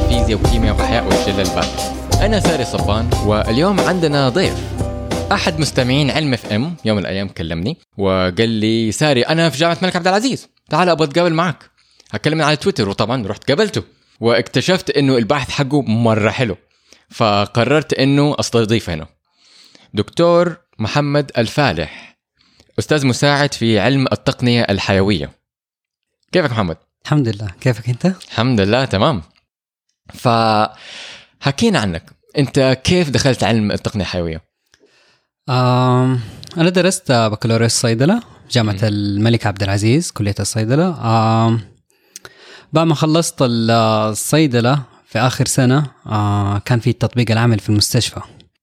فيزياء وكيمياء وأحياء والشلة الباقي. أنا ساري صبان، واليوم عندنا ضيف أحد مستمعين علم اف ام. يوم من الأيام كلمني وقال لي ساري أنا في جامعة الملك عبد العزيز، تعال أبغى أتقابل معك. هكلمني على تويتر، وطبعا رحت قابلته واكتشفت إنه البحث حقه مرة حلو، فقررت إنه أستضيفه هنا. دكتور محمد الفالح، أستاذ مساعد في علم التقنية الحيوية. كيفك محمد؟ الحمد لله، كيفك أنت؟ الحمد لله تمام. فحكينا عنك، أنت كيف دخلت علم التقنية الحيوية؟ أنا درست بكالوريوس صيدلة جامعة الملك عبد العزيز، كلية الصيدلة. بعد ما خلصت الصيدلة في آخر سنة كان في التطبيق العمل في المستشفى.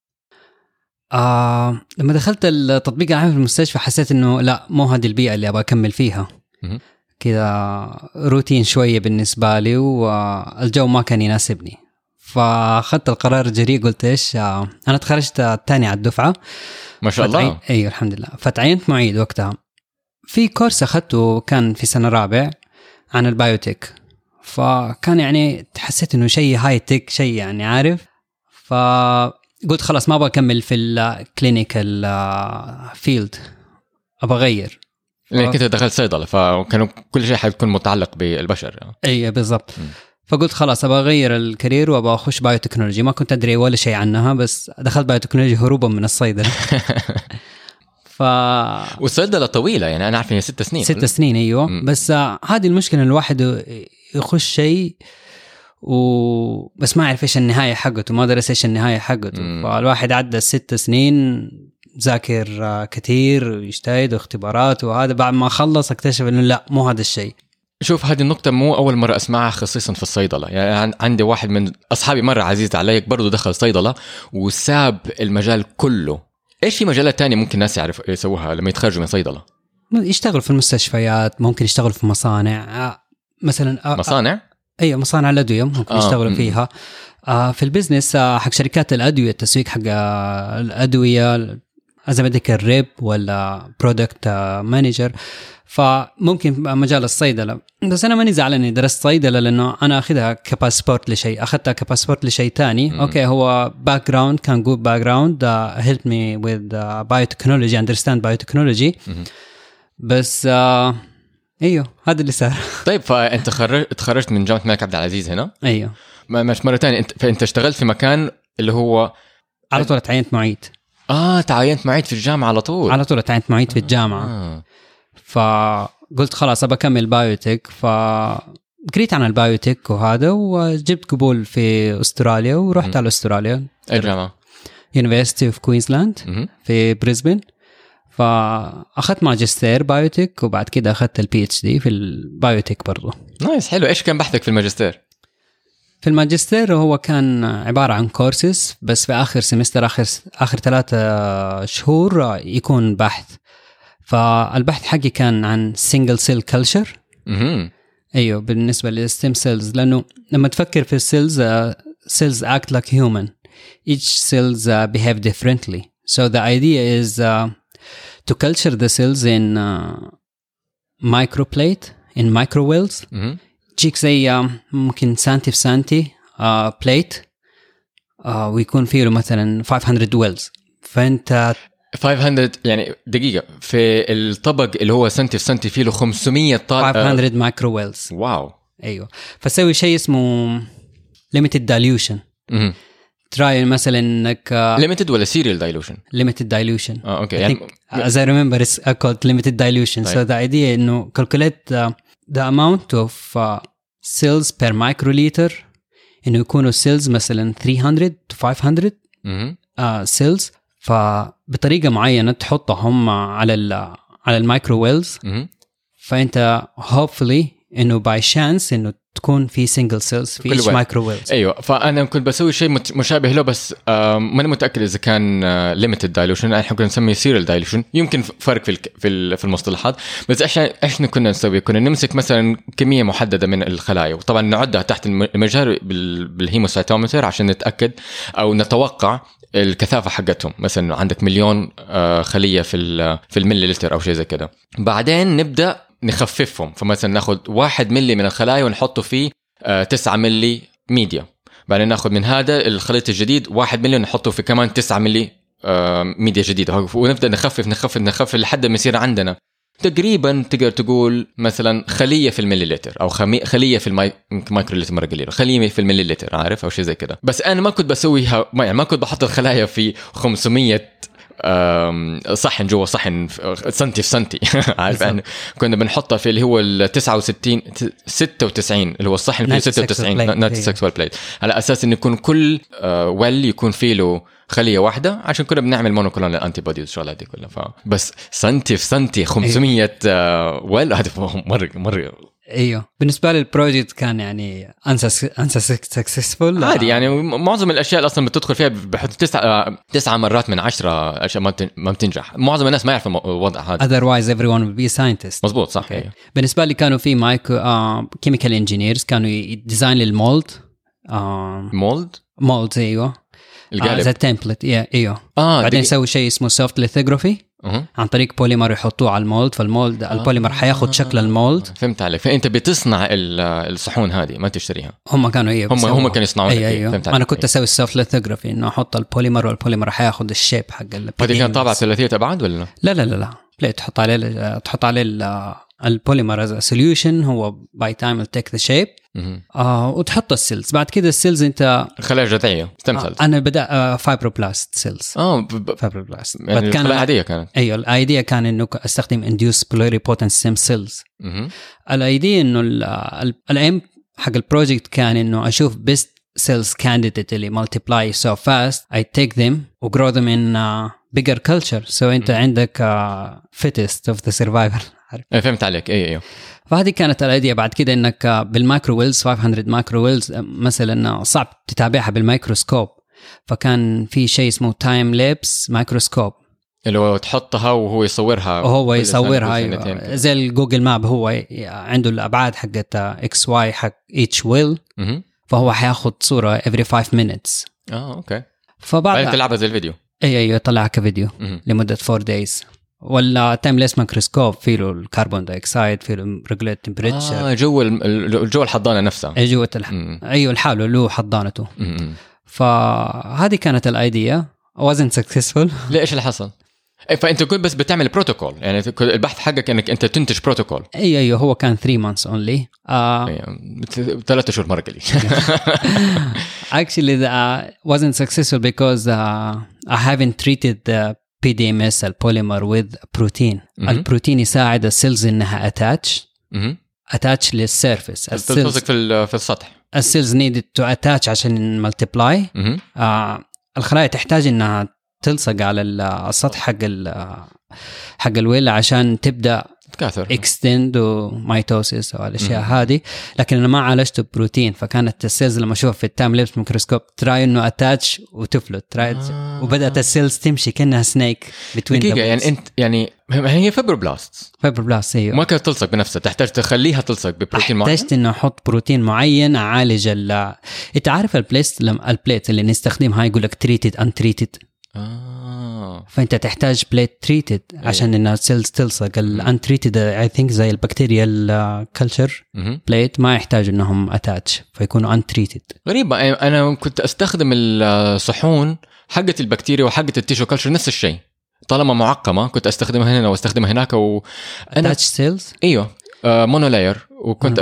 لما دخلت التطبيق العمل في المستشفى حسيت إنه لا، مو هذه البيئة اللي أبغى أكمل فيها. كذا روتين شوية بالنسبة لي، والجو ما كان يناسبني. فأخذت القرار الجريء، قلت إيش، أنا تخرجت الثاني على الدفعة ما شاء الله. أيوة الحمد لله. فتعينت معيد وقتها في كورس أخذته، كان في سنة رابع عن البايوتيك. فكان يعني حسيت إنه شيء هاي تك، شيء يعني عارف. فقلت خلاص ما أبغى أكمل في الكلينيكال فيلد، أبغى أغير. لأن كنت دخلت صيدلة، فكانوا كل شيء حيكون متعلق بالبشر. أيوة بالضبط. فقلت خلاص أبغى أغير الكارير وأبغى أخش بايوتكنولوجي. ما كنت أدري ولا شيء عنها، بس دخلت بايوتكنولوجي هروبا من الصيدلة. والصيدلة طويلة، يعني أنا عارف إنها 6 سنين. 6 سنين أيوة. بس هذه المشكلة، الواحد يخش شيء بس ما يعرف إيش النهاية حقته، ما درس إيش النهاية حقته. فالواحد عدى 6 سنين ذاكر كتير ويجتهد واختبارات، وهذا بعد ما خلص اكتشف إنه لا، مو هذا الشيء. شوف، هذه النقطة مو أول مرة أسمعها، خصيصا في الصيدلة. يعني عندي واحد من أصحابي مرة عزيز علي برضو دخل صيدلة وساب المجال كله. إيش في مجالات تانية ممكن الناس يسووها لما يتخرجوا من صيدلة؟ يشتغل في المستشفيات، ممكن يشتغل في مصانع مثلا. مصانع؟ أي مصانع الأدوية ممكن يشتغلوا فيها. في البيزنس حق شركات الأدوية، التسويق حق الأدوية as a medical rep ولا product manager. فممكن مجال الصيدلة. بس أنا ماني زعلان إني درست صيدلة، لأنه أنا أخذها كباسبورت لشيء، أخذتها كباسبورت لشيء تاني. أوكي، هو background كان good background helped me with biotechnology, understand biotechnology. بس أيوه هذا اللي صار. طيب، فأنت تخرجت من جامعة الملك عبد العزيز هنا؟ أيوه. مش مرة تانية. فأنت اشتغلت في مكان اللي هو على طول تعينت معيد. تعينت معيد في الجامعة على طول تعينت معيد في الجامعة. فقلت خلاص أبى أكمل بايوتيك. فقريت عن البايوتيك وهذا، وجبت قبول في أستراليا ورحت على أستراليا. أي جامعة؟ University of Queensland في بريسبن. فأخذت ماجستير بايوتيك، وبعد كده أخذت الPhD في البايوتيك برضو. نايس، حلو. إيش كان بحثك في الماجستير؟ في الماجستير هو كان عبارة عن كورسز، بس في آخر سمستر، آخر 3 شهور يكون بحث. فالبحث حقي كان عن single cell culture. أيوه، بالنسبة للستيم سيلز، لأنه لما تفكر في السيلز، cells act like human. Each cells behave differently. So the idea is to culture the cells in microplate, in microwells. تشيك زي ممكن سانتي في سانتي بليت، ويكون فيه مثلا 500 ويلز. فأنت 500 يعني دقيقة في الطبق اللي هو سنتي في سنتي فيه له 500 500 مايكرو ويلز. واو. أيوه. فسوي شيء اسمه limited dilution. تراي مثلا انك limited ولا serial dilution؟ limited dilution. اوكي. يعني as I remember it's called limited dilution. So the idea انه calculate the amount of cells per microliter، انه يكونوا cells مثلا 300 to 500 cells. فبطريقة معينة تحطهم على المايكرو ويلز. فانت hopefully انه by chance انه تكون في single cells في each microwave. ايوه. فانا كنت بسوي شيء مشابه له، بس ماني متاكد اذا كان limited dilution. احنا كنا نسميه serial dilution. يمكن فرق في المصطلحات. بس ايش كنا نسوي؟ كنا نمسك مثلا كميه محدده من الخلايا، وطبعا نعدها تحت المجهر بالهيموسايتومتر عشان نتاكد او نتوقع الكثافه حقتهم. مثلا عندك 1,000,000 خليه في المليلتر او شيء زي كده. بعدين نبدا نخففهم. فمثلا ناخد 1 ملي من الخلايا ونحطه فيه 9 ملي ميديا، بعدين ناخذ من هذا الخليط الجديد 1 ملي نحطه في كمان 9 ملي ميديا جديدة، ونبدأ نخفف لحد ما يصير عندنا تقريبا تقدر تقول مثلا خلية في المليلتر أو خلية في المايكرولتر مرة قليلة، خلية في المليلتر عارف أو شيء زي كده. بس أنا ما كنت بسويها، يعني ما كنت بحط الخلايا في 500 صحن جوا صحن سنتي في سنتي عارف يعني كنا بنحطها في اللي هو ال 96 اللي هو الصحن فيه 96 نوت سكسوال بليت، على اساس انه يكون كل ويل يكون فيه له خليه واحده، عشان كنا بنعمل مونوكلونال انتي بودي والشغلات دي كلها. بس سنتي في سنتي 500 ويل هذا مره ايوه. بالنسبه لي البروجكت كان يعني انسى سكسسفول عادي، يعني معظم الاشياء اصلا بتدخل فيها بحط 9 مرات من 10 اشياء ما بتنجح. معظم الناس ما يعرفوا الوضع هذا. otherwise everyone will be a scientist. مزبوط صح. أيوه. بالنسبه لي كانوا في كيميكال انجينيرز كانوا يديزاين للمولد مولد ايوه زي التمبلت ايوه بعدين يسوي شيء اسمه سوفت ليثوغرافي عن طريق بوليمر يحطوه على المولد، فالمولد البوليمر حياخد شكل المولد. فهمت عليك. فانت بتصنع الصحون هذه ما تشتريها. هم كانوا هم كانوا يصنعون. أيوه. انا كنت اسوي السوفت ليثوغرافي انه احط البوليمر والبوليمر حياخد الشيب حق هذه كانت طابعه ثلاثيه ابعاد ولا لا بليت تحط عليه البوليمر از سوليوشن، هو باي تايم will take the shape وتحط السيلز. بعد كده السيلز انت خلايا جذعيه انا بدا فايبروبلاست سيلز فايبروبلاست يعني كان العاديه كانت ايوه الأيديا كان انه استخدم induced pluripotent stem cells. الأيديا انه الام حق البروجكت كان انه اشوف best cells candidate اللي multiply so fast I take them و grow them in bigger culture. so انت عندك fittest of the survivor. فهمت عليك. ايوه فهذه كانت الأيديا. بعد كده انك بالمايكرو ويلز 500 مايكرو ويلز مثلا صعب تتابعها بالميكروسكوب، فكان في شيء اسمه تايم لابس مايكروسكوب اللي هو تحطها وهو يصورها أيوة. زي الجوجل ماب، هو عنده الأبعاد حقت اكس واي حق each ويل فهو حياخد صورة every 5 minutes. اوكي. فبعد تلعبها زي الفيديو. ايوه يطلعها كفيديو لمدة 4 days. ولا تايمليس مايكروسكوب فيه له الكربون دايوكسيد، فيه له ريجوليت تمبريتشر جو الحضانه نفسها. جوه ايوه الحاله له حضانته. فهذه كانت الايديا wasn't successful. ليش اللي حصل؟ فانت كنت بس بتعمل بروتوكول، يعني البحث حقك انك انت تنتج بروتوكول. ايوه هو كان 3 months only. 3 شهور مرة قليل. Actually wasn't successful because I haven't treated the PDMS البوليمر with protein. البروتين يساعد السيلز انها attach للسيرفيس. تلصق في السطح. السيلز needed to attach عشان multiply. الخلايا تحتاج انها تلصق على السطح حق الويل عشان تبدأ تكاثر extend وميتوسيس والاشياء هذه. لكن انا ما عالجته بروتين، فكانت السيلز لما اشوف في التايم لابس ميكروسكوب تراي انه اتاتش وتفلت وبدات السيلز تمشي كانها سنيك بتوين يعني انت يعني هي فايبروبلاست ايوه ما كانت تلصق بنفسها، تحتاج تخليها تلصق ببروتين معين. احتاجت انه احط بروتين معين اعالج انت عارف البليت اللي نستخدمها يقول لك تريتد ان تريتد. فانت تحتاج بليت تريتد عشان ان السيلز تلصق. الانتريتد اي ثينك زي البكتيريا الكلتشر بليت ما يحتاج انهم اتاتش فيكونوا انتريتد. غريبه. انا كنت استخدم الصحون حقه البكتيريا وحقه التيشو كلتشر نفس الشيء، طالما معقمه كنت استخدمها هنا واستخدمها هناك اتاتش سيلز. ايوه مونولاير. وكنت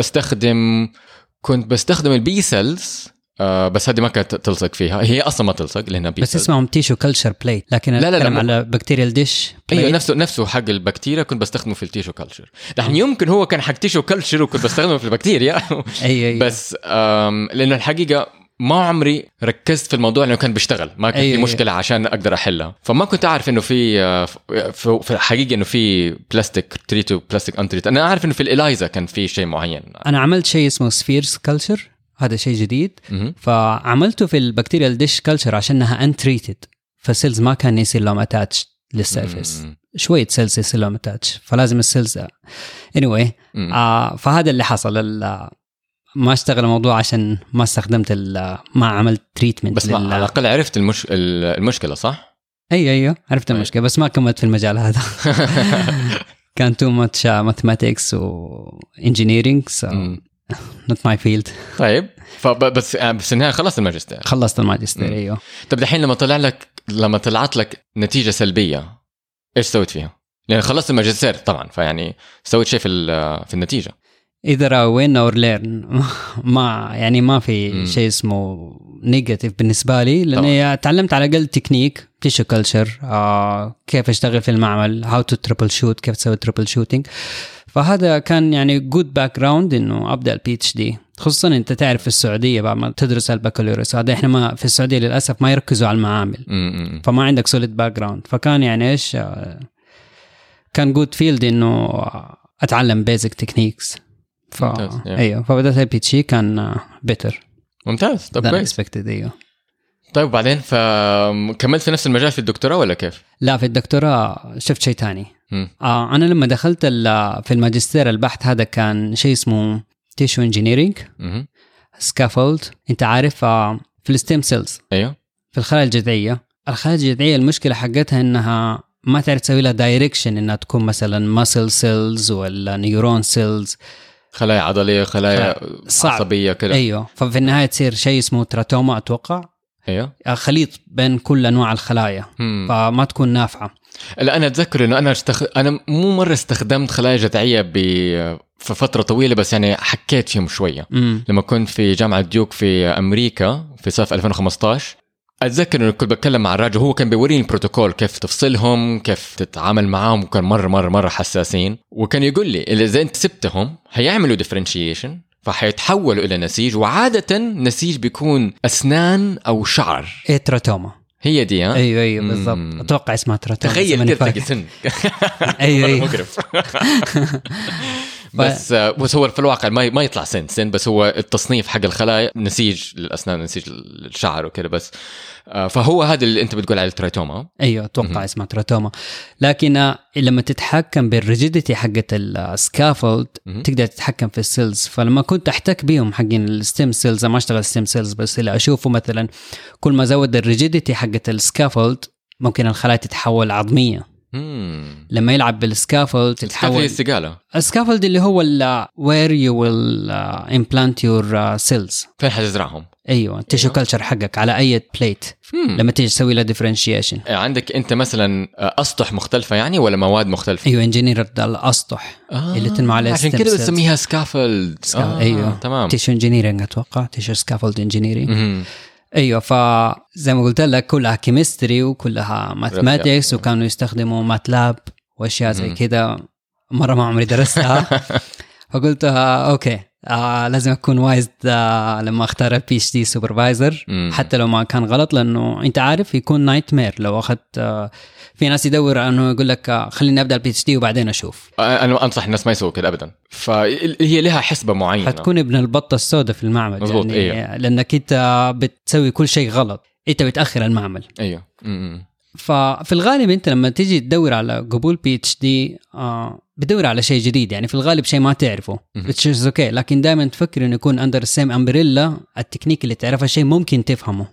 كنت بستخدم البي سيلز بس هذه ما كانت تلصق فيها، هي اصلا ما تلصق لانها بس اسمهم تيشو كلتشر بلاي. لكن لا على بكتيريا الدش ايوه نفسه حق البكتيريا كنت بستخدمه في التيشو كلتشر. دحين يمكن هو كان حق تيشو كلتشر وكنت بستخدمه في البكتيريا. أيوة. بس لانه الحقيقه ما عمري ركزت في الموضوع لانه كان بيشتغل، ما كان في مشكله عشان اقدر احلها. فما كنت اعرف انه في الحقيقه انه في بلاستيك تريتو بلاستيك انتريت. انا اعرف انه في الإلايزا كان في شيء معين. انا عملت شيء اسمه سفيرز كلتشر، هذا شيء جديد. فعملته في البكتيريا الدش كلتشر عشانها انتريتد، فالسيلز ما كان يصير لهم اتاتش للسيرفيس. شويه سيلز يصير لهم اتاتش، فلازم السيلز anyway. فهذا اللي حصل. ما اشتغل الموضوع عشان ما استخدمت ما عملت تريتمنت. بس على الاقل عرفت المشكله صح. ايوه عرفت المشكله بس ما كملت في المجال هذا. كان too much mathematics و engineering not my field. طيب بس النهاية خلصت الماجستير. خلصت الماجستير ايوه. طب دحين لما طلعت لك نتيجة سلبية ايش سويت فيها؟ يعني خلصت الماجستير طبعا، فيعني سويت شيء في النتيجة. either win or learn. ما في شيء اسمه نيجاتيف بالنسبة لي، لأني تعلمت على الأقل تكنيك تيشو كلتشر، كيف أشتغل في المعمل، how to troubleshoot، كيف تسوي troubleshooting. فهذا كان يعني good background إنه أبدأ PhD، خصوصا أنت تعرف في السعودية بعد ما تدرس البكالوريوس هذا، إحنا ما في السعودية للأسف ما يركزوا على المعامل، فما عندك solid background. فكان يعني إيش كان good field إنه أتعلم basic techniques. ايوه فبدأت الPhD كان better. ممتاز. طب كويس. ايوه. طيب بعدين فكملت في نفس المجال في الدكتوراه ولا كيف؟ لا في الدكتوراه شفت شيء تاني. انا لما دخلت في الماجستير البحث هذا كان شيء اسمه تيشو انجينيرينج سكافولد. انت عارف في الستيم سيلز، ايوه في الخلايا الجذعيه. الخلايا الجذعيه المشكله حقتها انها ما تعرف تسوي لها دايركشن، انها تكون مثلا ماسل سيلز ولا نيورون سيلز، خلايا عضليه، خلايا عصبيه كده. ايوه ففي النهايه تصير شيء اسمه تراتوما اتوقع. ايوه خليط بين كل انواع الخلايا فما تكون نافعه. لا انا اتذكر انه انا مو مره استخدمت خلايا جذعيه في فتره طويله، بس يعني حكيت فيهم شويه لما كنت في جامعه ديوك في امريكا في صيف 2015. اتذكر انه كنت بتكلم مع الراجل، هو كان بيوريني البروتوكول كيف تفصلهم، كيف تتعامل معاهم، وكان مره حساسين. وكان يقول لي اذا انت سبتهم هيعملوا ديفرنشيشن، فحيتحولوا الى نسيج، وعاده نسيج بيكون اسنان او شعر. تراتوما هي دي. ايوه بالضبط. اتوقع اسمها تراتوما. تخيل كده تلاقي سن. ايوه مقرف. بس هو في الواقع ما يطلع سن، بس هو التصنيف حق الخلايا نسيج للأسنان، نسيج للشعر وكده بس. فهو هذا اللي أنت بتقول على التراتوما. أيوة أتوقع اسمها تراتوما. لكن لما تتحكم بالريجيديتي حقة السكافولد تقدر تتحكم في السيلز. فلما كنت أحتك بيهم حقين الستيم سيلز، ما أشتغل ستيم سيلز بس اللي أشوفه مثلا كل ما زود الريجيديتي حقة السكافولد ممكن الخلايا تتحول عظمية. لما يلعب بالسكافولد تتحول استقالة. السكافولد اللي هو where you will implant your cells، فين حتزرعهم. ايوه تيشو كلتشر حقك على اي بليت لما تيجي تسوي له ديفرنشيشن. عندك انت مثلا اسطح مختلفه يعني ولا مواد مختلفه؟ ايوه انجينير الاسطح اللي تنمو على عشان كده بنسميها سكافولد. ايوه تمام. تيشو انجينيرنج اتوقع تيشو سكافولد انجينيرنج. ايوه فزي ما قلت لك كلها كيمستري وكلها ماثماتكس، وكانوا يستخدموا ماتلاب واشياء زي كده، مره ما عمري درستها. فقلت اوكي لازم اكون وايز لما اختار PhD سوبرفايزر حتى لو ما كان غلط، لانه انت عارف يكون نايت مير لو اخذت. في ناس يدور انه يقول لك خليني ابدا PhD وبعدين اشوف. انا انصح الناس ما يسووا كده ابدا، فهي لها حسبه معينه. حتكون ابن البطه السوداء في المعمل مزبوط. يعني أيوه. لانك انت بتسوي كل شيء غلط، انت بتاخر المعمل. ايوه. ففي الغالب انت لما تيجي تدور على قبول PhD بتدور على شيء جديد، يعني في الغالب شيء ما تعرفه بتشوز اوكي، لكن دائما تفكر انه يكون اندر السيم امبريلا، التكنيك اللي تعرفه شيء ممكن تفهمه.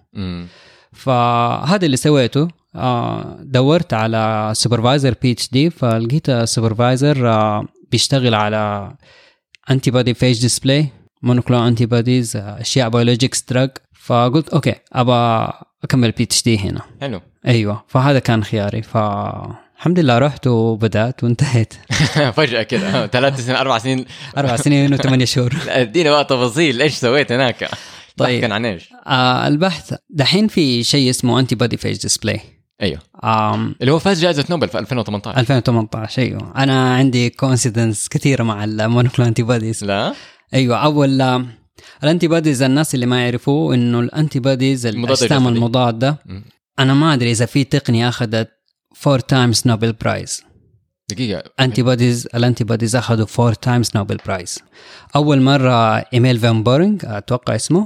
فهذا اللي سويته. دورت على سوبرفايزر PhD، فلقيت سوبرفايزر بيشتغل على antibody phage display monoclonal antibodies، اشياء biologics drug. فقلت اوكي ابى اكمل PhD هنا. حلو. ايوه فهذا كان خياري. فالحمد لله رحت وبدأت وانتهيت. فجأة كده 3 سنين 4 سنين 4 سنين و8 شهور. ادينا بقى تفاصيل ايش سويت هناك. طيب كان عن ايش؟ البحث دحين في شيء اسمه antibody phage display. ايوه اللي هو فاز جائزة نوبل في 2018. ايوه انا عندي كونسيدنس كثيرة مع المونوكلونال انتيبوديز. لا ايوه اول الانتيبوديز، الناس اللي ما يعرفوا انه الانتيبوديز الاجسام المضادة، انا ما ادري اذا في تقنية اخذت 4 times نوبل برايز. دقيقة. الانتيبوديز اخذوا 4 times نوبل برايز. اول مرة ايميل فان بورينغ اتوقع اسمه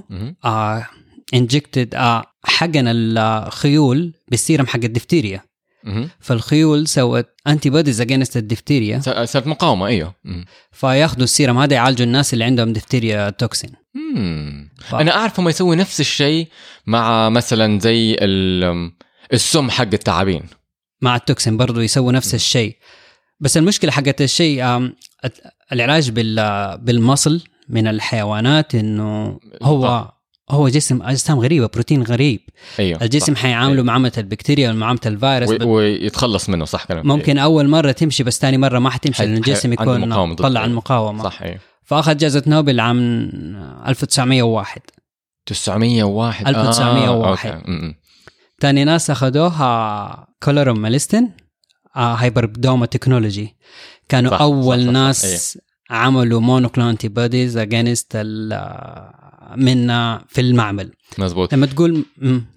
انجكتد حقن الخيول بالسيرم حق الدفتيريا. فالخيول سوت انتيبوديز اجينست الدفتيريا، صارت مقاومة. ايوه فياخذوا السيرم هذا يعالجوا الناس اللي عندهم دفتيريا توكسين. انا اعرف هم يسوي نفس الشيء مع مثلا زي السم حق التعابين، مع التوكسين برضو يسووا نفس الشيء. بس المشكلة حقت الشيء العلاج بالمصل من الحيوانات انه هو جسم اجسام غريبه، بروتين غريب. أيوه الجسم حيعامله معامله البكتيريا ومعامله الفيروس ويتخلص منه. صح كلام. ممكن اول مره تمشي بس ثاني مره ما حتمشي لان الجسم يكون طلع المقاومه. صح. أيوه. فاخذ جائزه نوبل عام 1901. 1901. ثاني ناس اخذوها كولورم ماليستن هايبردوما تكنولوجي، كانوا صح اول صح ناس صح. عملوا مونوكلونال انتي بوديز اجينست منا في المعمل. مزبوط. لما تقول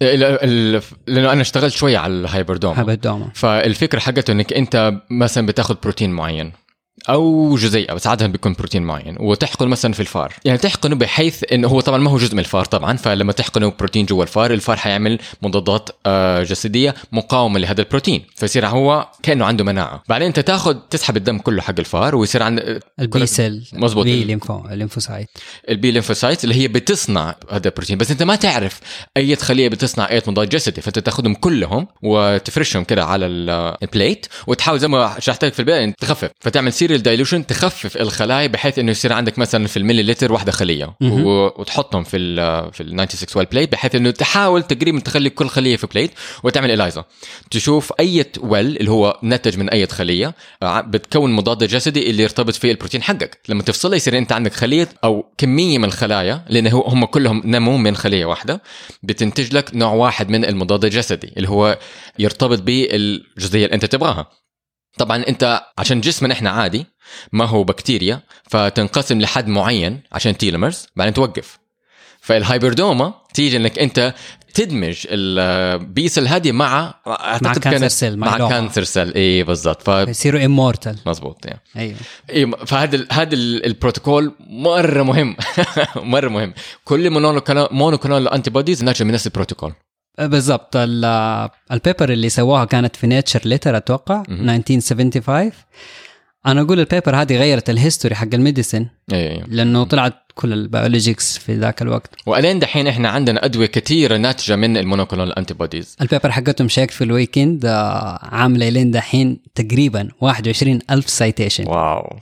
لانه انا اشتغلت شويه على الهايبردوما، فالفكره حقته انك انت مثلا بتاخذ بروتين معين او جزيئه، بس عاده بيكون بروتين معين، وتحقن مثلا في الفار، يعني تحقنه بحيث انه هو طبعا ما هو جزء من الفار طبعا، فلما تحقنه بروتين جوا الفار حيعمل مضادات جسديه مقاومه لهذا البروتين، فيصير هو كانه عنده مناعه. بعدين انت تسحب الدم كله حق الفار ويصير عند البي سيل. مظبوط. الليمفوسايت اللي هي بتصنع هذا البروتين، بس انت ما تعرف اي خليه بتصنع اي مضاد جسدي، فانت تاخذهم كلهم وتفرشهم كده على البليت وتحاول زي ما شرحت لك في البدايه تخفف، فتعمل سيريال دايلوشن تخفف الخلايا بحيث انه يصير عندك مثلا في المليلتر واحده خليه وتحطهم في ال 96 ويل بليت، بحيث انه تحاول تقريبا تخلي كل خليه في بليت وتعمل إلايزا تشوف اي ويل اللي هو نتج من اي خليه بتكون مضاد جسدي اللي يرتبط فيه البروتين حقك. لما تفصله يصير انت عندك خليه او كميه من الخلايا، لان هم كلهم نمو من خليه واحده، بتنتج لك نوع واحد من المضاد الجسدي اللي هو يرتبط بالجزئيه اللي انت تبغاها. طبعا انت عشان جسمنا احنا عادي ما هو بكتيريا، فتنقسم لحد معين عشان تيلومرز بعدين توقف. فالهايبردوما تيجي انك انت تدمج البيس الهادي مع كانسر سيل مع كانسر سيل. ايه بالضبط، فيصيروا امورتال. مظبوط يعني. ايوه فهذا البروتوكول مره مهم مره مهم. كل مونوكلونال انتي بوديز ناتج من نفس البروتوكول بالضبط. البيبر اللي سواها كانت في نيتشر ليتر اتوقع 1975. انا اقول البيبر هذه غيرت الهيستوري حق الميديسين. لانه طلعت كل البيولوجيكس في ذاك الوقت، والين دحين احنا عندنا ادويه كثيره ناتجه من المونوكلونال انتي بوديز. البيبر حقتهم شيك في الويكند عامله لين دحين تقريبا 21,000 سايتيشن. واو.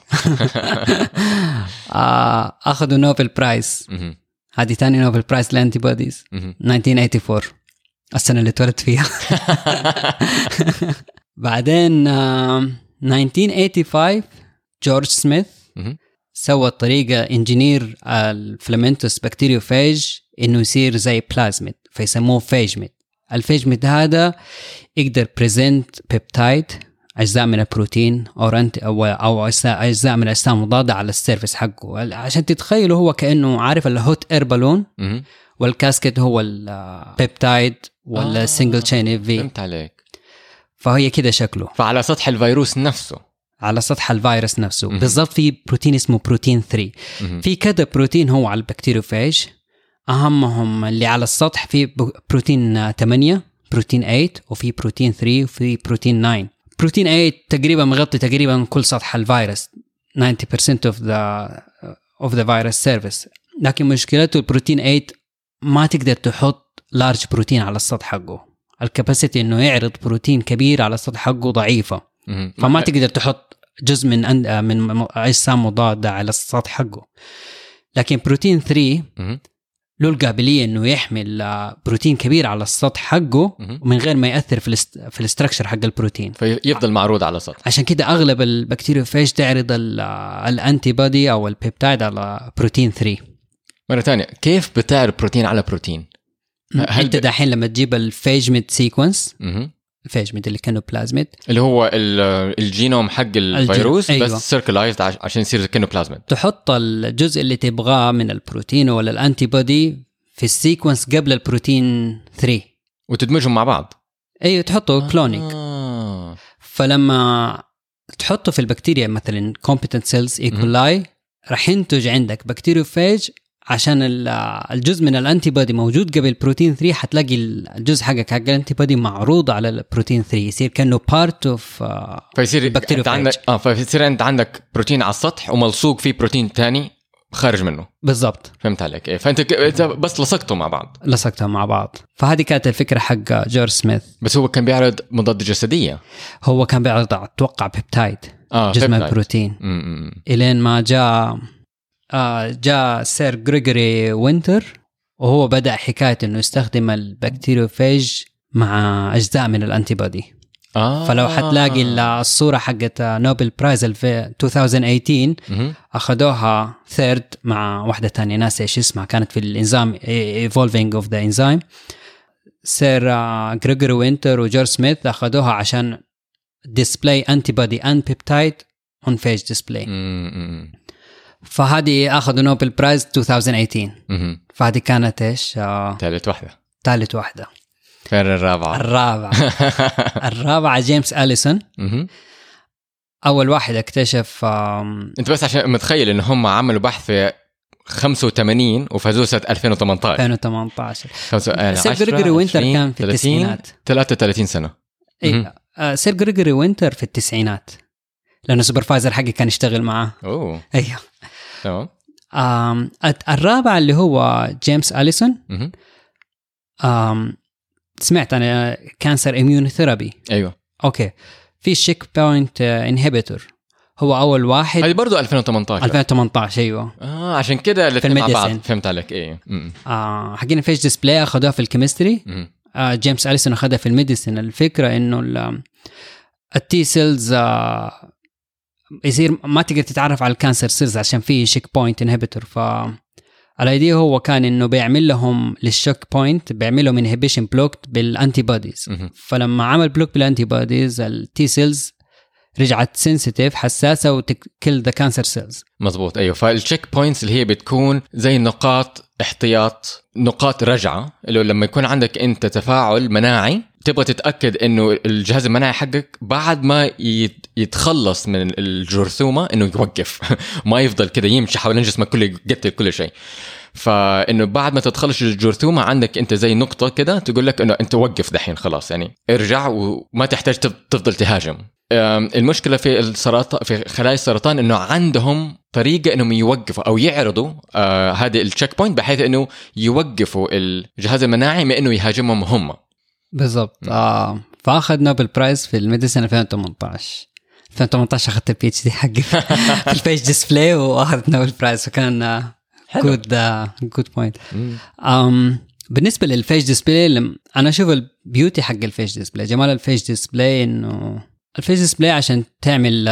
اخذوا نوبل برايز. هذه تاني نوبل برايز للانتي بوديز 1984 السنه اللي اتولدت فيها. بعدين 1985 جورج سميث سوى طريقة انجينير الفلامنتوس بكتيريوفاج انه يصير زي بلازميد، فيسموه فاجميد. الفاجميد هذا يقدر بريزنت بيبتايد، اجزاء من البروتين او اجزاء من الاجسام مضادة على السيرفيس حقه. عشان تتخيلوا هو كأنه عارف الهوت اير بالون والكاسكت هو البيبتايد ولا سنجل تشين في. فهمت عليك. فهي كده شكله. فعلى سطح الفيروس نفسه، على سطح الفيروس نفسه بالضبط. في بروتين اسمه بروتين 3. في كذا بروتين هو على البكتيريوفاج، أهمهم اللي على السطح في بروتين 8 بروتين 8 وفي بروتين 3 وفي بروتين 9. بروتين 8 تقريبا مغطي تقريبا كل سطح الفيروس 90% of the virus surface. لكن مشكلته البروتين 8 ما تقدر تحط لارج بروتين على السطح حقه. الكاباسيتي انه يعرض بروتين كبير على السطح حقه ضعيفة، فما تقدر تحط جزء من اجسام مضادة على السطح حقه. لكن بروتين 3 له القابلية انه يحمل بروتين كبير على السطح حقه من غير ما يأثر في الاستراكشر حق البروتين، فيفضل معروض على السطح. عشان كده اغلب البكتيريوفاج تعرض الانتي بودي او البيبتايد على بروتين 3. مرة ثانية، كيف بتعرض بروتين على بروتين؟ انت دحين لما تجيب الفاجميد سيكونس، الفاجميد اللي كانه بلازميد اللي هو الجينوم حق الفيروس، أيوة. بس سيركلايزد عشان يصير كأنه بلازميد. تحط الجزء اللي تبغاه من البروتين ولا الانتي بودي في السيكونس قبل البروتين 3 وتدمجهم مع بعض. ايوه تحطه كلونينج. فلما تحطه في البكتيريا مثلا competent cells E. coli راح ينتج عندك بكتيريوفاج، عشان الجزء من الانتي بودي موجود قبل بروتين 3 حتلاقي الجزء حقك حق الانتي بودي معروض على البروتين 3، يصير كأنه بارت اوف بكتيريوفاج. فيصير انت عندك بروتين على السطح وملصوق فيه بروتين ثاني خارج منه. بالضبط. فهمت عليك. إيه. فانت بس لصقتهم مع بعض. فهذه كانت الفكره حق جورج سميث. بس هو كان بيعرض مضاد جسديه. هو كان بيعرض اتوقع بيبتايد، جزء من البروتين. الين ما جاء جاء سير غريغوري وينتر وهو بدأ حكاية إنه يستخدم البكتيريوفاج مع أجزاء من الأنتيبودي. فلو حتلاقي الصورة حقت نوبل برايز في 2018 أخذوها ثيرد مع واحدة تانية ناس إيش اسمها، كانت في الإنزيم Evolving of the Enzyme. سير غريغوري وينتر وجورج سميث أخذوها عشان display antibody and peptide on phage display. فهذه أخذوا نوبل برايز 2018. فهذه كانت إيش ثالث واحدة. فين الرابعة؟ الرابعة جيمس أليسون. أول واحد اكتشف أنت بس عشان متخيل إن هم عملوا بحث في 85 وفازوا سنة 2018. سير غريغوري وينتر كان في التسعينات 33 سنة. سير غريغوري وينتر في التسعينات لأنه سوبرفايزر حقي كان يشتغل معه. أيوه تمام. الرابع اللي هو جيمس أليسون. سمعت أنا كانسر إميونوثيرابي. أيوه أوكي. في شيك بوينت إنهبيتور هو أول واحد. هذه برضو 2018. أيوه. عشان كده اللي مع بعض فهمت عليك. إيه. حقين فيش ديسبلاي أخذوها في الكيمستري. جيمس أليسون أخذها في الميديسين. الفكرة إنه التي سيلز يصير ما تقدر تتعرف على الكانسر سيلز عشان فيه شيك بوينت إنهبيتور. فالأيديا هو كان إنه بيعمل لهم للشوك بوينت بيعمل لهم إنهبيشن بلوك بالأنتيبوديز. فلما عمل بلوك بالأنتيبوديز التي سيلز رجعت سنسيتيف حساسة وتكل ذا كانسر سيلز. مزبوط. أيوه. فالشيك بوينتس اللي هي بتكون زي نقاط احتياط، نقاط رجعة، اللي لما يكون عندك أنت تفاعل مناعي تبغى تتأكد إنه الجهاز المناعي حقك بعد ما يتخلص من الجرثومة إنه يوقف ما يفضل كده يمشي حول جسمك كله يقتل كل شيء. فإنه بعد ما تتخلص الجرثومة عندك أنت زي نقطة كده تقول لك إنه أنت وقف دحين خلاص، يعني ارجع وما تحتاج تفضل تهاجم. المشكلة في السرطان، في خلايا السرطان، إنه عندهم طريقة إنهم يوقفوا أو يعرضوا هذه التشيك بوينت بحيث إنه يوقفوا الجهاز المناعي من إنه يهاجمهم هم. بالضبط. فأخذ نوبل برايز في الميديسين 2018 أخذت البي اتش دي حقي في الفيش ديسبلاي وأخذت نوبل برايز. فكان good point. بالنسبة للفيش ديسبلاي أنا أشوف البيوتي حق الفيش ديسبلاي، جمال الفيش ديسبلاي إنه الفيش ديسبلاي عشان تعمل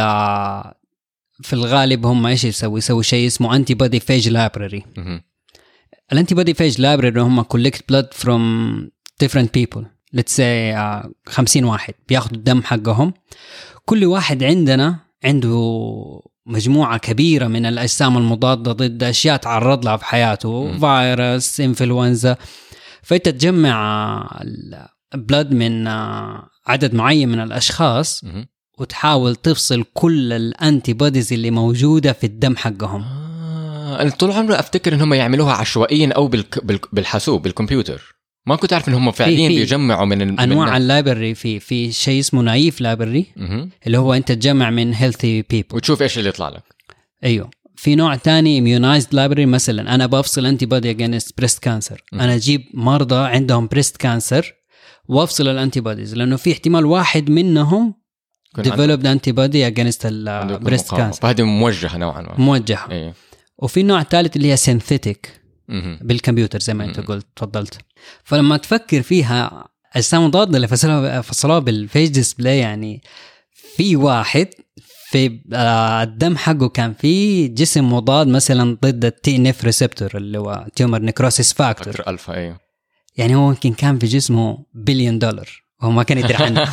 في الغالب هم إيش يسوي شيء اسمه antibody phage library. الantibody phage library هم collect blood from different people. let's say 50 واحد بياخدوا الدم حقهم. كل واحد عنده مجموعة كبيرة من الأجسام المضادة ضد أشياء تعرض لها في حياته، فيروس، إنفلونزا. فأنت تجمع البلد من عدد معين من الأشخاص وتحاول تفصل كل الأنتي بوديز اللي موجودة في الدم حقهم. أنا طول عمري أفتكر إنهم يعملوها عشوائيا أو بالحاسوب بالكمبيوتر. ما كنت أعرف إنهم فعليا بيجمعوا من أنواع اللايبرري. في شيء اسمه نايف لايبرري اللي هو أنت تجمع من healthy people وتشوف إيش اللي يطلع لك. أيوه. في نوع تاني immunized library. مثلا أنا بفصل antibody against breast cancer. أنا أجيب مرضى عندهم breast cancer وافصل الانتيبوديز لأنه في احتمال واحد منهم developed antibody against breast cancer. فهذه موجهة نوعا ما. موجهة. أيه. وفي نوع ثالث اللي هي synthetic بالكمبيوتر زي ما أنت قلت تفضلت. فلما تفكر فيها أجسام مضادة اللي فصلوها بالفيش ديسبلاي، يعني في واحد في الدم حقه كان في جسم مضاد مثلا ضد التي نف ريسبتور اللي هو تيومر نيكروسيس فاكتور ألفا. أيوه. يعني هو يمكن كان في جسمه $1 بليون وهو ما كان يدري عنه.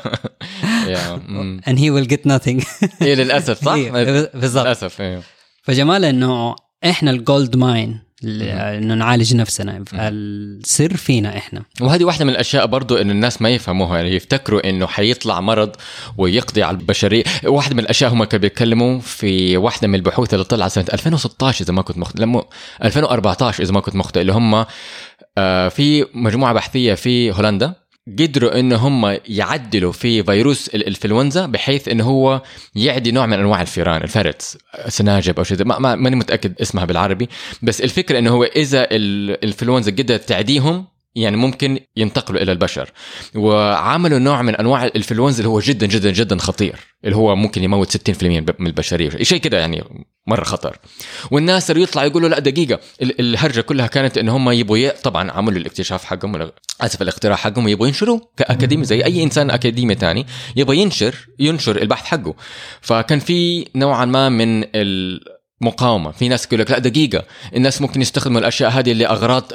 and he will get nothing. إيه للأسف. صح. بالضبط. للأسف. أيوه. فجمال إنه إحنا الجولد ماين إنه نعالج نفسنا. السر فينا إحنا. وهذه واحدة من الأشياء برضو إنه الناس ما يفهموها، يعني يفتكروا إنه حيطلع مرض ويقضي على البشرية. واحدة من الأشياء هم كانوا بيتكلموا في واحدة من البحوث اللي طلعت سنة 2016 إذا ما كنت مخطئ، لما 2014 إذا ما كنت مخطئ، اللي هم في مجموعة بحثية في هولندا قدروا إنه هم يعدلوا في فيروس الإنفلونزا بحيث إنه هو يعدي نوع من أنواع الفيران، الفرت، سناجب أو شيء، ماني متأكد اسمها بالعربي. بس الفكرة إنه هو إذا الإنفلونزا قدرت تعديهم يعني ممكن ينتقلوا إلى البشر. وعملوا نوع من أنواع الإنفلونزا اللي هو جدا جدا جدا خطير، اللي هو ممكن يموت 60% من البشرية، شيء كده يعني مرة خطر. والناس اللي يطلع يقولوا لا دقيقة، الهرجة كلها كانت إن هم يبغوا طبعا عملوا الاكتشاف حقهم، آسف الاختراع حقهم، يبغوا ينشروه كأكاديمي زي أي إنسان أكاديمي تاني يبغى ينشر البحث حقه. فكان في نوعا ما من المقاومة. في ناس يقول لك لا دقيقة، الناس ممكن يستخدموا الأشياء هذه لأغراض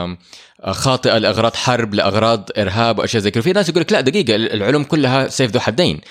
خاطئة، لأغراض حرب، لأغراض إرهاب وأشياء زي كده. في ناس يقول لك لا دقيقة، العلوم كلها سيف ذو حدين،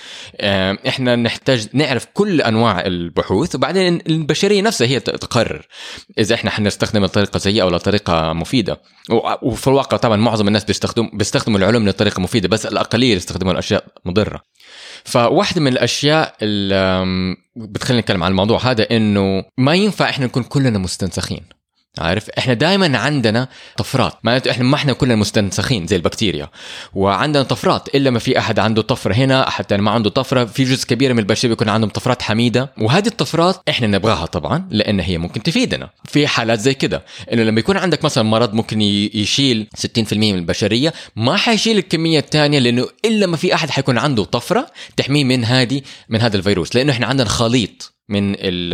إحنا نحتاج نعرف كل أنواع البحوث، وبعدين البشرية نفسها هي تقرر إذا إحنا حنستخدم الطريقة سيئة ولا طريقة مفيدة. وفي الواقع طبعا معظم الناس بيستخدموا العلوم لطريقة مفيدة، بس الأقلية يستخدموا الأشياء مضرة. فواحدة من الأشياء اللي بتخلينا نتكلم عن الموضوع هذا إنه ما ينفع إحنا نكون كلنا مستنسخين. عارف، احنا دائما عندنا طفرات، معناته احنا ما احنا كلنا مستنسخين زي البكتيريا، وعندنا طفرات. الا ما في احد عنده طفره هنا، احد تاني ما عنده طفره. في جزء كبير من البشر بيكون عندهم طفرات حميده، وهذه الطفرات احنا نبغاها طبعا لان هي ممكن تفيدنا في حالات زي كده. انه لما يكون عندك مثلا مرض ممكن يشيل 60% من البشريه، ما حيشيل الكميه الثانيه، لانه الا ما في احد حيكون عنده طفره تحميه من هذا الفيروس، لانه احنا عندنا خليط من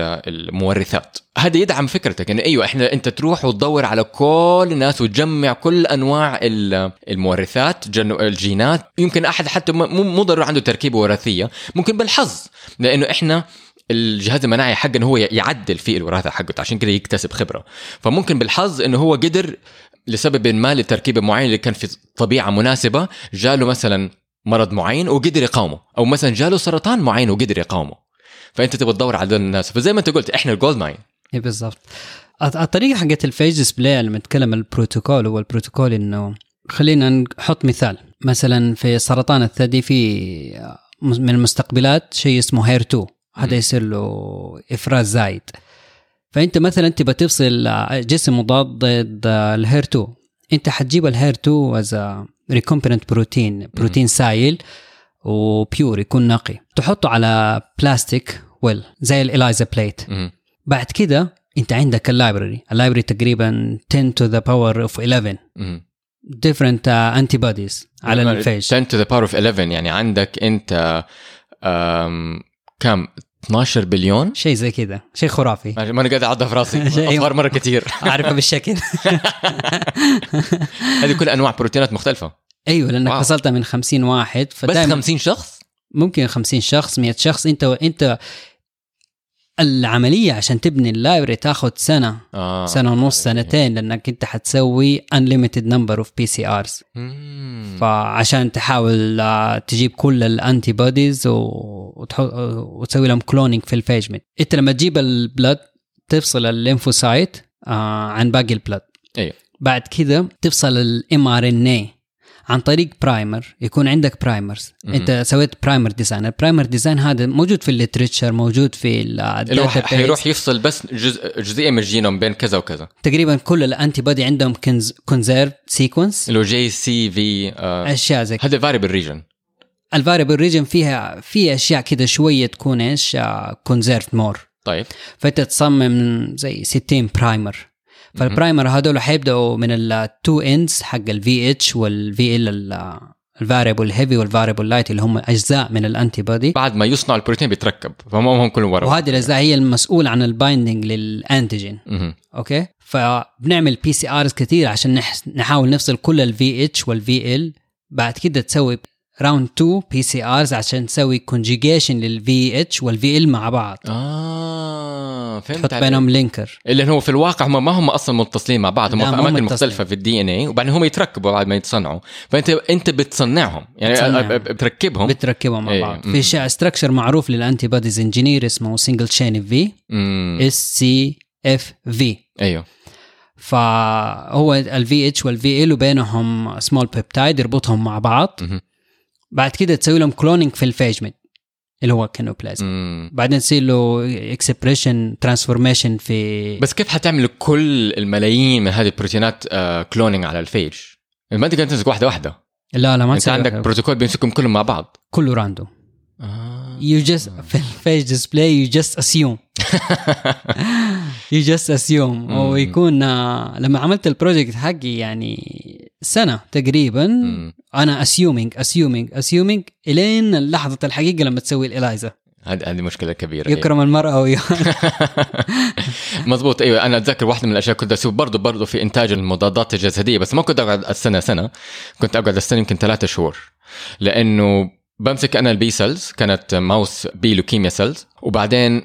المورثات. هذا يدعم فكرتك ان ايوه انت تروح وتدور على كل الناس وتجمع كل انواع المورثات، الجينات. يمكن احد حتى مو ضروري عنده تركيبه وراثيه، ممكن بالحظ، لانه احنا الجهاز المناعي حقنا هو يعدل في الوراثه حقته، عشان كده يكتسب خبره. فممكن بالحظ انه هو قدر لسبب ما لتركيبه معين اللي كان في طبيعه مناسبه، جاله مثلا مرض معين وقدر يقاومه، او مثلا جاله سرطان معين وقدر يقاومه. فانت تبغى تدور على الناس. فزي ما انت قلت احنا الجولد ماين. اي بالضبط. الطريقه حقت الفيج ديسبلاي لما نتكلم البروتوكول، هو البروتوكول انه خلينا نحط مثال. مثلا في سرطان الثدي في من المستقبلات شيء اسمه هير 2، هذا يصير له افراز زايد. فانت مثلا تبغى تفصل جسم مضاد ضد الهير 2، انت حتجيب الهير 2 از ريكومبيننت بروتين سائل وبيور، يكون نقي، تحطه على بلاستيك زي الإلايزا بليت. بعد كده انت عندك اللايبراري تقريبا 10 to the power of 11 different antibodies على الفيج. 10 to the power of 11 يعني عندك انت كم 12 بليون، شيء زي كده، شيء خرافي. ما انا قاعد اعضها في راسي اصغر مره كتير اعرفها بالشكل. هذه كل انواع بروتينات مختلفه. ايوه، لانك فصلتها من 50 واحد، بس 50 شخص، ممكن 50 شخص 100 شخص. انت العمليه عشان تبني اللايبرري تاخذ سنه سنه ونص، سنتين، لانك انت حتسوي unlimited number of PCRs. فعشان تحاول تجيب كل الانتي بوديز وتسوي لهم كلونينج في الفيجمنت. انت لما تجيب البلد تفصل الليمفوسايت عن باقي البلد. ايوه. بعد كده تفصل الmRNA عن طريق برايمر. يكون عندك برايمرز، انت سويت برايمر ديزاين. البرايمر ديزاين هذا موجود في الليتريتشر، موجود في الداتا بيس. حيروح يفصل بس جزئيه من الجينوم بين كذا وكذا. تقريبا كل الانتي بودي عندهم كونزيرف سيكونس، اللي هو JCV اشياء زي هذا فاريبل ريجن. الفاريبل ريجن في اشياء كده شويه تكون ايش كونزيرف مور. طيب، فانت تصمم زي 60 برايمر. فالبرايمر هذول حيبدأوا من التو اندز حق الVH والVL، الفاريبل هيفي والفاريبل لايت، اللي هم اجزاء من الانتي بودي. بعد ما يصنع البروتين بيتركب، فهم هم كلهم ورا. وهذه الاجزاء هي المسؤول عن البايندينج للانتيجين. اوكي، فبنعمل PCRs كثير عشان نحاول نفصل كل الVH والVL. بعد كده تسوي راوند 2 PCRs عشان تسوي كونجيجيشن للVH والVL مع بعض. فهمت. تحط بينهم لينكر، اللي هو في الواقع هم ما هم اصلا متصلين مع بعض، هم في اماكن مختلفه في الDNA، وبعدين هم يتركبوا بعد ما يتصنعوا. فانت بتصنعهم، يعني بتركبهم مع بعض. في شيء ستراكشر معروف للانتي بوديز انجينير اسمه سنجل تشين في SCFV. ايوه. فهو الVH والVL وبينهم سمول بيبتايد يربطهم مع بعض. بعد كده تسوي لهم كلونينج في الفيجمنت اللي هو كينوبلازم. بعدين تصير له اكسبريشن ترانسفورميشن في. بس كيف حتعمل كل الملايين من هذه البروتينات كلونينج على الفيج؟ ما تقدر تمسك واحده. لا ما انت عندك بروتوكول بيمسكهم كلهم مع بعض، كله راندوم. you just في الفيج ديسبلاي you just assume ويكون لما عملت البروجكت حقي يعني سنة تقريبا. أنا assuming إلين لحظة الحقيقة لما تسوي الإلايزا. هذه مشكلة كبيرة. يكرم المرأة مزبوط. أيوة أنا أتذكر واحدة من الأشياء كنت أسوي برضو في إنتاج المضادات الجسدية، بس ما كنت أقعد السنة، كنت أقعد السنة يمكن 3 شهور، لأنه بمسك أنا البي سيلز، كانت ماوس بي لوكيميا سيلز، وبعدين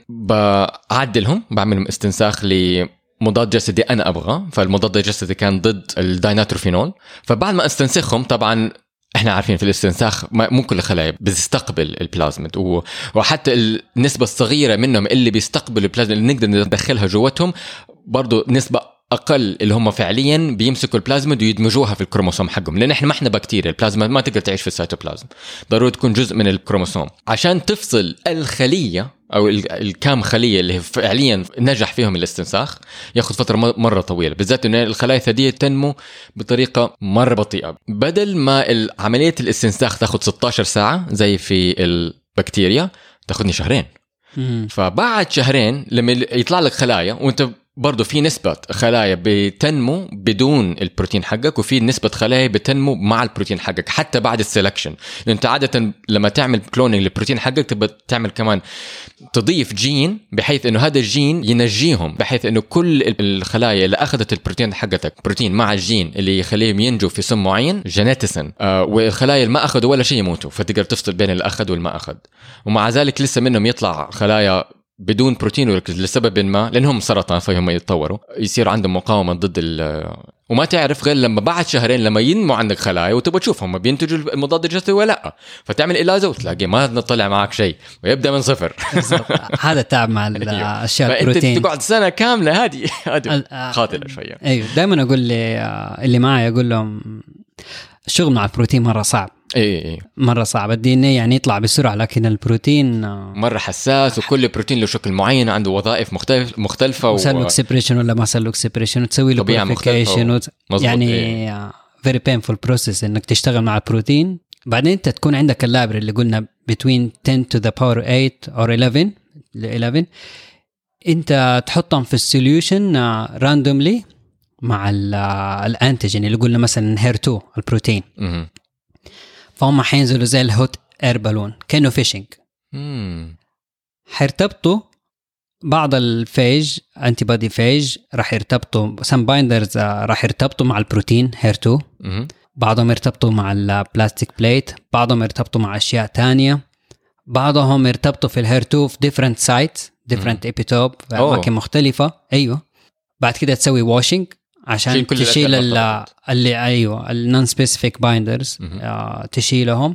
بعدلهم، بعملهم استنساخ لمضاد جسدي أنا أبغى. فالمضاد الجسدي كان ضد الدايناتروفينول. فبعد ما استنسخهم، طبعا احنا عارفين في الاستنساخ مو كل الخلايا بتستقبل البلازميد، وحتى النسبة الصغيرة منهم اللي بيستقبلوا البلازميد اللي نقدر ندخلها جواتهم برضو نسبة أقل اللي هم فعليا بيمسكوا البلازميد ويدمجوها في الكروموسوم حقهم، لأن احنا ما احنا بكتيريا، البلازميد ما تقدر تعيش في السيتوبلازم، ضروري تكون جزء من الكروموسوم. عشان تفصل الخلية أو الكام خلية اللي فعليا نجح فيهم الاستنساخ ياخد فترة مرة طويلة، بالذات إن الخلايا الثديية تنمو بطريقة مرة بطيئة. بدل ما عملية الاستنساخ تاخد 16 ساعة زي في البكتيريا تاخدني 2 شهر. فبعد 2 شهر لما يطلع لك خلايا، وانت برضو في نسبة خلايا بتنمو بدون البروتين حقك، وفي نسبة خلايا بتنمو مع البروتين حقك حتى بعد السلكشن. لأن انت عادة لما تعمل كلونينج للبروتين حقك تبقى تعمل كمان تضيف جين بحيث انه هذا الجين ينجيهم، بحيث انه كل الخلايا اللي اخذت البروتين حقتك بروتين مع الجين اللي يخليهم ينجوا في سم معين جينيتسن، والخلايا اللي ما اخذوا ولا شيء يموتوا، فتقدر تفصل بين اللي اخذ والما اخذ. ومع ذلك لسه منهم يطلع خلايا بدون بروتين لسبب ما، لأنهم سرطان فهم يتطوروا، يصير عندهم مقاومة ضد وما تعرف غير لما بعد 2 شهر لما ينمو عندك خلايا وتبغى تشوف هم بينتجوا المضاد الجسدي ولا لا، فتعمل إلازة وتلاقي ما نطلع معك شيء ويبدأ من 0. هذا تعب مع الأشياء البروتين. فأنت تقعد سنة كاملة هذه خاطرة شوية. أيوه دائما أقول اللي معي أقول لهم الشغل مع البروتين مرة صعب. ايه مرة صعب. الدي ان اي يعني يطلع بسرعة، لكن البروتين مرة حساس، وكل بروتين له شكل معين، عنده وظائف مختلفة وسلوك سيبريشن ولا ما سلوك سيبريشن، وتسوي له بوريفيكيشن يعني very painful process انك تشتغل مع البروتين. بعدين انت تكون عندك اللابر اللي قلنا between 10 to the power 8 or 11 انت تحطهم في السوليوشن راندوملي مع الانتيجين اللي قلنا مثلا HER2 البروتين. فهم حينزلوا زي الهوت اير بالون كأنه فيشنج. حيرتبطوا بعض الفيج انتي بودي فيج، راح يرتبطوا سم بايندرز راح يرتبطوا مع البروتين HER2، بعضهم يرتبطوا مع البلاستيك بليت، بعضهم يرتبطوا مع اشياء تانية، بعضهم يرتبطوا في الHER2 في different sites different epitope في اماكن مختلفة. ايوه بعد كده تسوي واشنج عشان تشيل اللي ايوه النون سبيسيفيك بايندرز تشيلهم،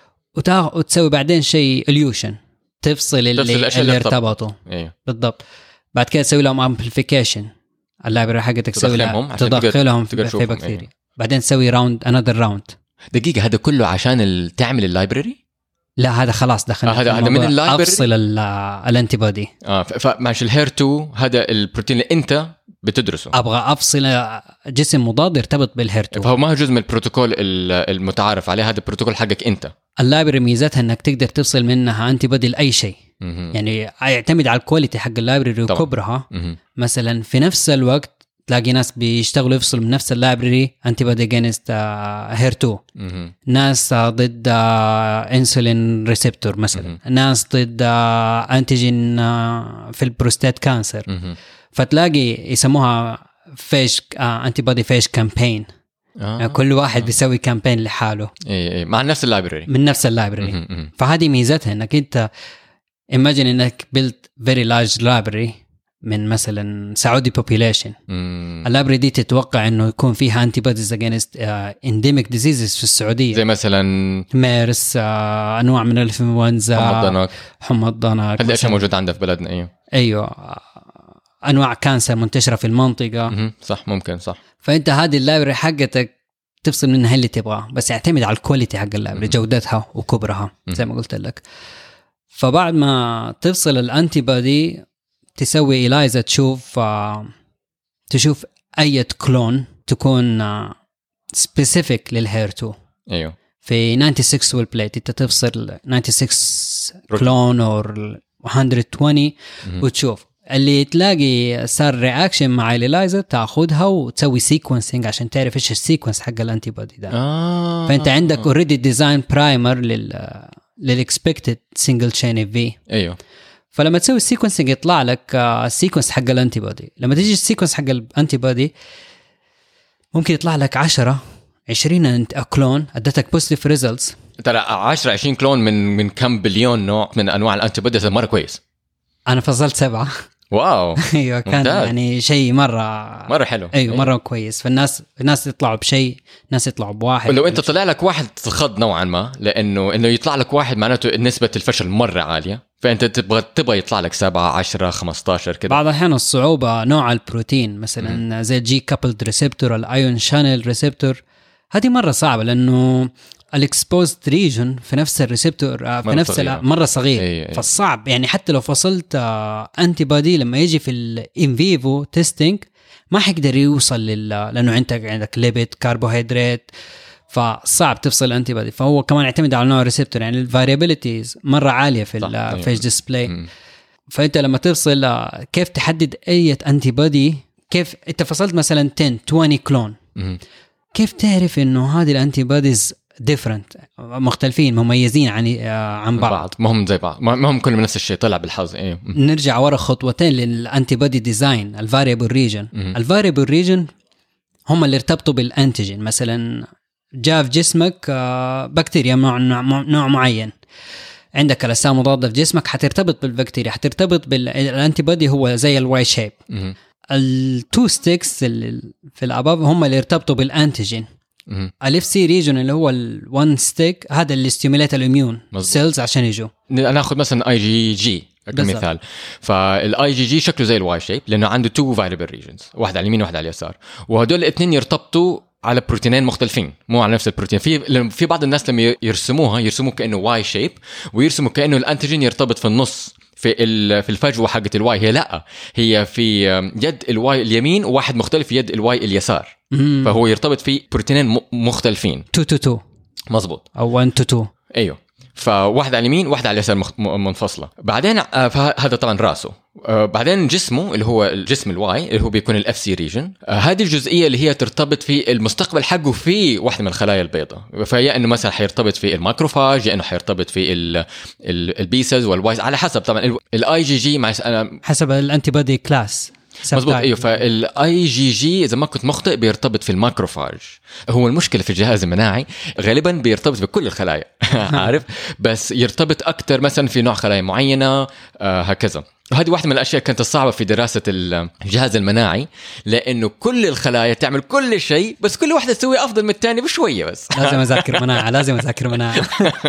وتسوي بعدين شيء اليوشن تفصل اللي ارتبطوا. أيوه. بالضبط. بعد كده تسوي لهم امبليفيكيشن، اللايبرري حقتك تسوي لهم تدخلهم في بكتيريا. أيوه. بعدين تسوي انذر راوند. دقيقه هذا كله عشان تعمل اللايبرري؟ لا هذا خلاص دخلنا هذا من اللايبرري، افصل الانتي بودي. فماشي الHER2 هذا البروتين اللي انت بتدرسه، ابغى افصل جسم مضاد يرتبط بالHER2، فهو ما هو جزء من البروتوكول المتعارف عليه، هذا البروتوكول حقك انت. اللايبرري ميزتها انك تقدر تفصل منها انتي بودي لاي شيء. يعني يعتمد على الكواليتي حق اللايبرري وكبرها. مثلا في نفس الوقت تلاقي ناس بيشتغلوا يفصلوا من نفس اللايبرري انتي بودي جينست HER2، ناس ضد انسولين ريسبتور مثلا، ناس ضد انتيجين في البروستات كانسر. فتلاقي يسموها فيش انتي بودي فيش كامبين. كل واحد بيسوي كامبين لحاله مع نفس اللايبرري، من نفس اللايبرري. فهذه ميزتها انك انت imagine انك build very large library من مثلا سعودي population. اللايبرري دي تتوقع انه يكون فيها antibodies against endemic diseases في السعودية، زي مثلا ميرس، انواع من الانفلونزا، حمى الضنك. هذا اشياء موجود عندنا في بلدنا. ايوه انواع كانسر منتشره في المنطقه. صح ممكن صح. فانت هذه اللايبرري حقتك تفصل منها اللي تبغاه، بس يعتمد على الكواليتي حق اللايبرري، جودتها وكبرها زي ما قلت لك. فبعد ما تفصل الانتي بودي تسوي إلايزا، تشوف اي كلون تكون سبيسيفيك للHER2. ايوه في 96 والبليت انت تفصل 96 كلون او 120 وتشوف اللي تلاقي صار رياكشن مع اليلايزر تاخذها وتسوي سيكونسينج عشان تعرف ايش السيكونس حق الانتي بودي ده. فانت عندك اوريدي ديزاين برايمر للاكسبكتد سنجل تشين اف في. ايوه. فلما تسوي السيكونسينج يطلع لك السيكونس حق الانتي بودي. لما تيجي السيكونس حق الانتي بودي ممكن يطلع لك 10-20 كلون ادتك بوزيتيف ريزلتس. ترى 10-20 كلون من كم بليون نوع من انواع الانتي بوديز مره كويس. انا فضلت 7. واو. ايوه كان ممتاز. يعني شيء مره حلو. ايوه مره كويس. فالناس يطلعوا بشيء، ناس يطلعوا بواحد. ولو انت طلع لك واحد تخض نوعا ما، لانه يطلع لك واحد معناته نسبه الفشل مره عاليه، فانت تبغى يطلع لك 7 10 15 كده. بعض الاحيان الصعوبه نوع البروتين مثلا زي الجي كابلد ريسبتور، الايون شانل ريسبتور، هذه مره صعبه لانه الاكسبوزد ريجن في نفس الريسبتور في نفس مره صغير. أي. فالصعب يعني حتى لو فصلت انتي بودي لما يجي في الان فيفو تيستينج ما حيقدر يوصل لانه عندك ليبيد كربوهيدرات، فصعب تفصل انتي بودي. فهو كمان يعتمد على نوع الريسبتور، يعني الفاريابيليتيز مره عاليه في الفيش ديسبلاي. فانت لما تفصل كيف تحدد اي انتي بودي؟ كيف انت فصلت مثلا 10-20 كلون، كيف تعرف انه هذه الانتي بوديز different مختلفين مميزين عن بعض؟ ما هم زي بعض، ما هم كلهم نفس الشيء، طلع بالحظ. ايه. نرجع ورا خطوتين للانتي بودي ديزاين. الفاريبل ريجن، الفاريبل ريجن هم اللي ارتبطوا بالانتيجين. مثلا جاء في جسمك بكتيريا نوع معين، عندك الاجسام مضاده في جسمك حترتبط بالبكتيريا، حترتبط بالانتي بودي. هو زي الواي شيب. التو ستيكس في الاباب هم اللي ارتبطوا بالانتيجين. الاف سي ريجن اللي هو الوان ستيك، هذا اللي ستيموليت الاميون سيلز عشان يجوا. ناخذ مثلا اي جي جي كمثال. فالاي جي جي شكله زي الواي شيب لانه عنده تو فاريبل ريجنز، واحد على اليمين وواحد على اليسار، وهدول الاثنين يرتبطوا على بروتينين مختلفين، مو على نفس البروتين. في بعض الناس لما يرسموه كانه واي شيب، ويرسموا كانه الانتيجين يرتبط في النص في الفجوه حقه الواي. هي لا، هي في يد الواي اليمين وواحد مختلف في يد الواي اليسار. فهو يرتبط في بروتينين مختلفين 2-2 مظبوط، او 1-2. ايوه. فواحد على اليمين واحد على اليسار منفصله. بعدين هذا طبعا راسه. بعدين جسمه اللي هو الجسم الواي اللي هو بيكون الاف سي ريجن، هذه الجزئيه اللي هي ترتبط في المستقبل حقه في واحده من الخلايا البيضاء. فيا انه مثلا حيرتبط في الماكروفاج، يا انه حيرتبط في البيسز والوايز، على حسب طبعا الاي جي جي مع حسب الانتي بودي كلاس. مظبوط. ايوه. فالاي جي جي اذا ما كنت مخطئ بيرتبط في الماكروفاج. هو المشكله في الجهاز المناعي غالبا بيرتبط بكل الخلايا عارف، بس يرتبط اكثر مثلا في نوع خلايا معينه هكذا. وهذه واحدة من الأشياء كانت الصعبة في دراسة الجهاز المناعي، لأنه كل الخلايا تعمل كل شيء بس كل واحدة تسوي أفضل من الثانية بشوية بس. لازم أذاكر مناعة.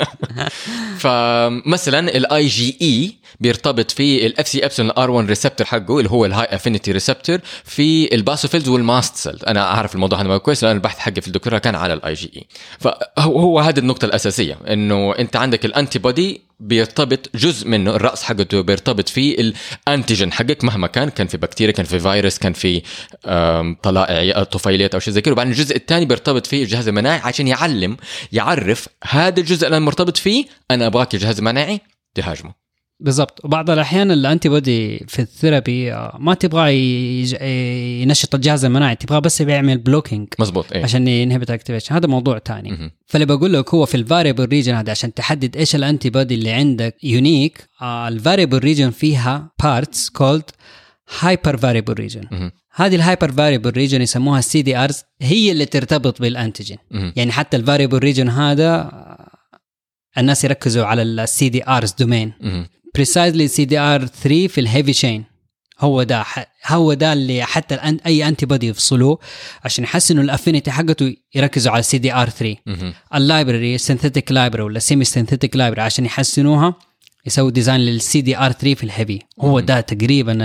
فمثلا الاي جي اي بيرتبط في الاف سي ابسلون ار 1 ريسبتور حقه اللي هو الهاي افينيتي ريسبتور في الباسوفيلز والماست سيل. انا اعرف الموضوع هذا كويس لأن البحث حقي في الدكتوراه كان على الاي جي اي. فهو هذه النقطة الأساسية، إنه أنت عندك الأنتي بودي بيرتبط جزء منه، الرأس حقته بيرتبط في الأنتيجين حقك مهما كان في بكتيريا، كان في فيروس، كان في طلائع طفيليات أو شيء زي كده. وبعدين الجزء الثاني بيرتبط فيه الجهاز المناعي عشان يعرف هذا الجزء اللي أنا مرتبط فيه أنا أبغاك الجهاز المناعي تهاجمه. بالضبط. وبعض الأحيان الأنتي بودي في الثيرابي ما تبغى ينشط الجهاز المناعي، تبغى بس بيعمل بلوكينج. مظبوط. إيه؟ عشان ينهبت اكتيفيشن، هذا موضوع تاني. فاللي بقول لك هو في الفاريبل ريجن هذا عشان تحدد ايش الانتي بودي اللي عندك يونيك. الفاريبل ريجن فيها بارتس كولد هايبر فاريبل ريجن. هذه الهايبر فاريبل ريجن يسموها السي دي ارز، هي اللي ترتبط بالانتيجين. يعني حتى الفاريبل ريجن هذا الناس يركزوا على السي دي ارز دومين. precisely CDR3 في الهيفي تشين، هو ده اللي حتى اي انتي بودي يفصلوه عشان يحسنوا الافينيتي حقته، يركزوا على CDR3. اللايبرري سينثيتيك لايبرري ولا سيمي سينثيتيك لايبرري عشان يحسنوها يسووا ديزاين للCDR3 في الهيفي. هو ده تقريبا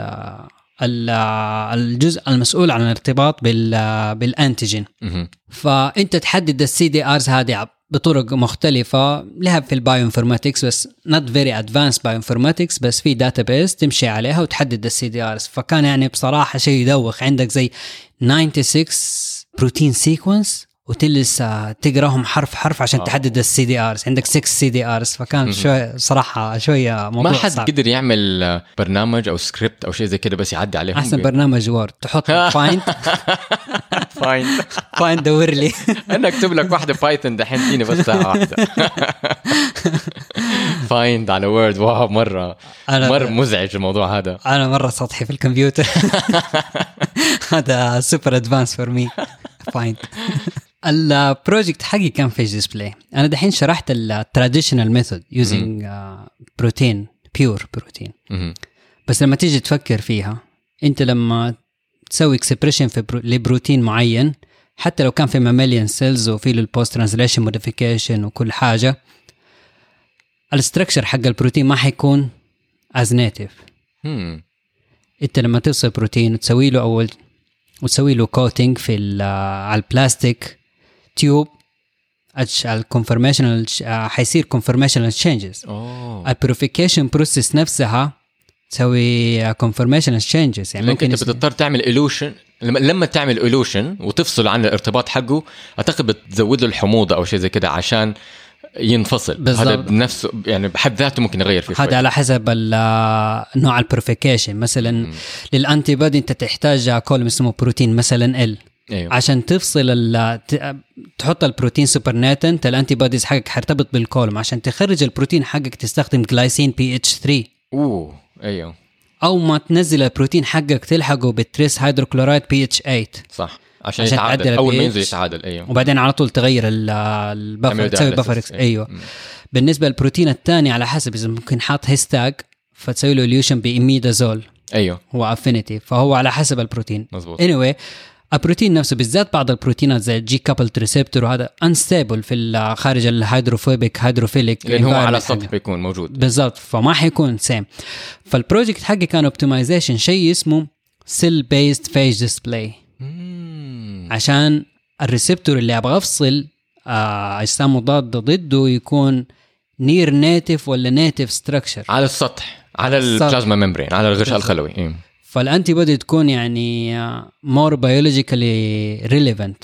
الجزء المسؤول عن الارتباط بالانتيجين. فانت تحدد السي دي ارز هذه بطرق مختلفة لها في البايوانفورماتكس، بس not very advanced bioinformatics، بس في database تمشي عليها وتحدد السي دي ارز. فكان يعني بصراحة شيء يدوخ، عندك زي 96 بروتين سيكونس وتلس تقراهم حرف حرف عشان تحدد السي دي ارز. عندك 6 سي دي ارز، فكان شوي صراحه شويه موضوع ما حد صعب. قدر يعمل برنامج او سكريبت او شيء زي كده بس يعدي عليهم. احسن برنامج وورد تحط فايند فايند دور لي انا اكتب لك واحده بايثون دحين فيني بس ساعه واحده. فايند على وورد، واو مره مزعج الموضوع هذا. انا مره سطحي في الكمبيوتر. هذا سوبر ادفانس فور مي. فايند. البروجكت حقي كان فيج ديسبلاي. انا دحين شرحت التراديشنال ميثود يوزنج بروتين، بيور بروتين. بس لما تيجي تفكر فيها، انت لما تسوي اكسبريشن في لبروتين معين، حتى لو كان في ماميليان سيلز وفي له البوست ترانسليشن موديفيكيشن وكل حاجه، الستركشر حق البروتين ما حيكون از نيتيف. انت لما توصل بروتين وتسوي له اول وتسوي له كوتينج في على البلاستيك تيوب، الكونفورميشنال حيصير كونفورميشنال تشينجز. البيوريفيكيشن بروسيس نفسها تسوي كونفورميشنال تشينجز. يعني ممكن انت بتضطر تعمل إيلوشن. لما تعمل إيلوشن وتفصل عن الارتباط حقه، اعتقد بتزود له الحموضه او شيء زي كده عشان ينفصل. بالزبط. هذا بنفسه يعني بحد ذاته ممكن يغير فيه. هذا على حسب نوع البيوريفيكيشن. مثلا للانتي بودي انت تحتاج كولوم اسمه بروتين مثلا ال. أيوه. عشان تفصل تحط البروتين سوبر ناتنت، الانتي بوديز حقك حرتبط بالكولوم. عشان تخرج البروتين حقك تستخدم جلايسين PH3. ايوه. او ما تنزل البروتين حقك تلحقه بالتريس هيدروكلورايد PH8. صح، عشان يتعادل. اول ما ينزل يتعادل. ايوه. وبعدين على طول تغير البفر، تسوي بفر. ايوه. بالنسبه للبروتين الثاني على حسب، اذا ممكن حاط هيستاج فتسوي له اليوشن بإميدازول. ايوه. هو افينيتي، فهو على حسب البروتين. مظبوط. anyway البروتين نفسه بالذات بعض البروتينات زي الجي كابلد ريسبتور، وهذا انستابل في خارج الهيدروفوبيك هيدروفيليك، لأنه هو على السطح بيكون موجود. بالضبط، فما حيكون سيم. فالبروجكت حقي كان اوبتمايزيشن شيء اسمه سيل بيست فيج ديسبلاي، عشان الريسبتور اللي ابغى افصل اجسام مضاده ضده يكون نير نيتيف ولا نيتيف ستراكشر على السطح، على البلازما ممبرين، على الغشاء الخلوي. فالانتي بودي تكون يعني مور بيولوجيكالي ريليفنت.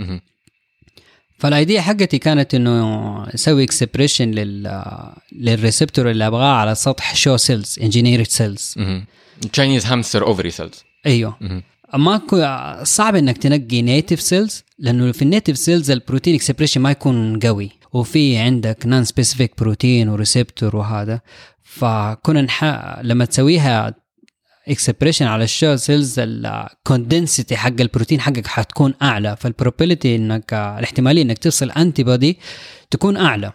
فالايديا حقتي كانت انه اسوي اكسبريشن للريسبتور اللي ابغاه على سطح شو سيلز، انجينيرد سيلز، تشاينيز هامستر اوفري سيلز. ايوه. اما صعب انك تنقي نيتيف سيلز، لانه في النيتيف سيلز البروتين اكسبريشن ما يكون قوي، وفي عندك نون سبيسيفيك بروتين وريسبتور وهذا. فكنا لما تسويها اكسبريشن على الشو سيلز، الكوندنسيتي حق البروتين حقك حتكون اعلى، فالبروبابيلتي انك الاحتماليه انك تفصل انتي بودي تكون اعلى.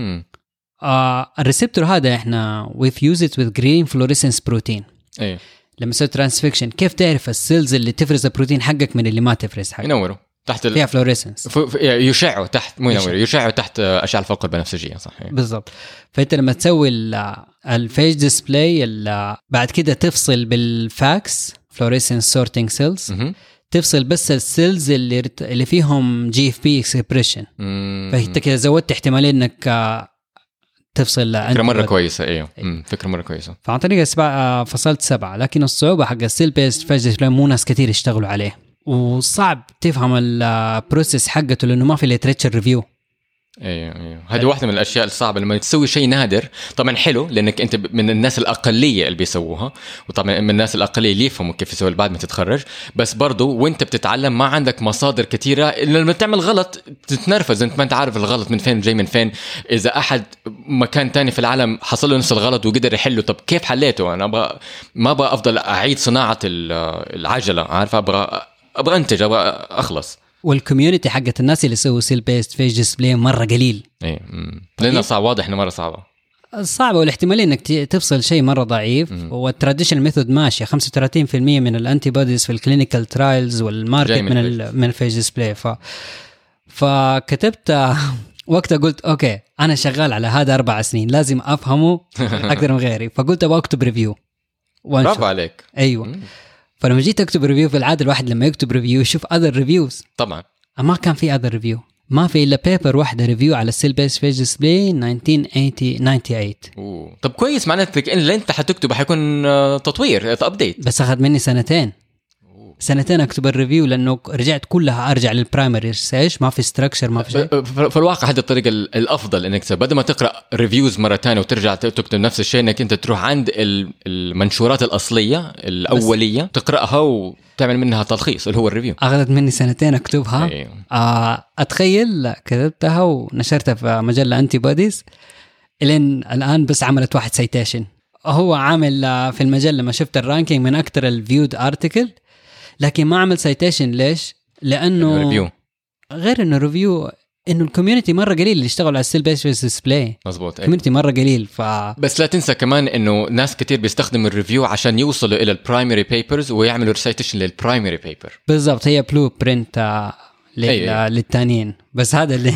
الريسبتور هذا احنا we've used it with green fluorescence protein. ايه. لما تسوي ترانسفيكشن كيف تعرف السيلز اللي تفرز البروتين حقك من اللي ما تفرز حقك؟ ينوروا تحت فيها فلوريسنس، يشعوا تحت، مو ينوروا، يشعوا تحت اشعه الفوق البنفسجيه. صح. بالضبط. فانت لما تسوي الفيج ديسبلاي بعد كده تفصل بالفاكس فلوريسنس سورتنج سيلز، تفصل بس السيلز اللي فيهم GFP اكسبريشن. فانت كده زودت احتماليه انك تفصل. فكرة مرة كويسة. ايوه. فكرة مرة كويسة. فعن طريق فصلت 7. لكن الصعوبة حق السيل بيست فيج ديسبلاي مو ناس كتير يشتغلوا عليه، وصعب تفهم البروسيس حقته لانه ما في ليتريتشر ريفيو. ايوه. هذه واحدة من الاشياء الصعبة لما تسوي شيء نادر. طبعا حلو لانك انت من الناس الاقلية اللي بيسووها، وطبعا من الناس الاقلية اللي يفهموا كيف يسوي بعد ما تتخرج. بس برضو وانت بتتعلم ما عندك مصادر كثيرة. لما تعمل غلط تتنرفز، انت ما انت عارف الغلط من فين جاي من فين. اذا احد مكان تاني في العالم حصل له نفس الغلط وقدر يحله، طب كيف حليته؟ انا ما ابغى افضل اعيد صناعة العجلة، عارف؟ ابغى انتج، ابغى اخلص. والكوميونتي حقت الناس اللي يسووا سيل بيست فيج ديسبلاي مره قليل. ايه. لانه صعب، واضح انه مره صعبه، والاحتماليه انك تفصل شيء مره ضعيف. والتراديشنال ميثود ماشيه 35% من الانتي بوديز في الكلينيكال ترايلز والماركت من الفيج ديسبلاي. فكتبت وقتها قلت اوكي انا شغال على هذا 4 سنين، لازم افهمه اكثر من غيري. فقلت ابغى اكتب ريفيو. برافو عليك. ايوه. فلما جيت اكتب ريفيو، في العاده الواحد لما يكتب ريفيو يشوف other reviews. طبعا ما كان في other review، ما في الا بيبر واحده ريفيو على السيل بيست فيج ديسبلاي 1998. طب كويس، معناتك ان اللي انت حتكتبه حيكون تطوير، ابديت. بس اخذ مني 2 سنين 2 اكتب الريفيو لانه رجعت كلها ارجع للبرايمري ريسيرش، ما في ستراكشر ما في شيء. في الواقع هذه الطريقه الافضل انك بدل ما تقرا ريفيوز مره ثانيه وترجع تكتب نفس الشيء، انك انت تروح عند المنشورات الاصليه الاوليه تقراها وتعمل منها تلخيص اللي هو الريفيو. اخذت مني 2 اكتبها. أيوه. اتخيل كتبتها ونشرتها في مجله انتي بوديز، الين الان بس عملت 1 سايتيشن. هو عامل في المجله لما شفت الرانكينج من اكثر الفيود ارتكل، لكن ما عمل سايتيشن. ليش؟ لانه ريفيو. غير انه ريفيو، انه الكوميونتي مره قليل اللي يشتغلوا على الستيل بيس ديسبلاي. مظبوط. الكوميونتي مره قليل. بس لا تنسى كمان انه ناس كتير بيستخدموا الريفيو عشان يوصلوا الى البرايمري بيبرز ويعملوا ريسايتيشن للبرايمري بيبر. بالضبط، هي بلو برنت للتانيين. بس هذا اللي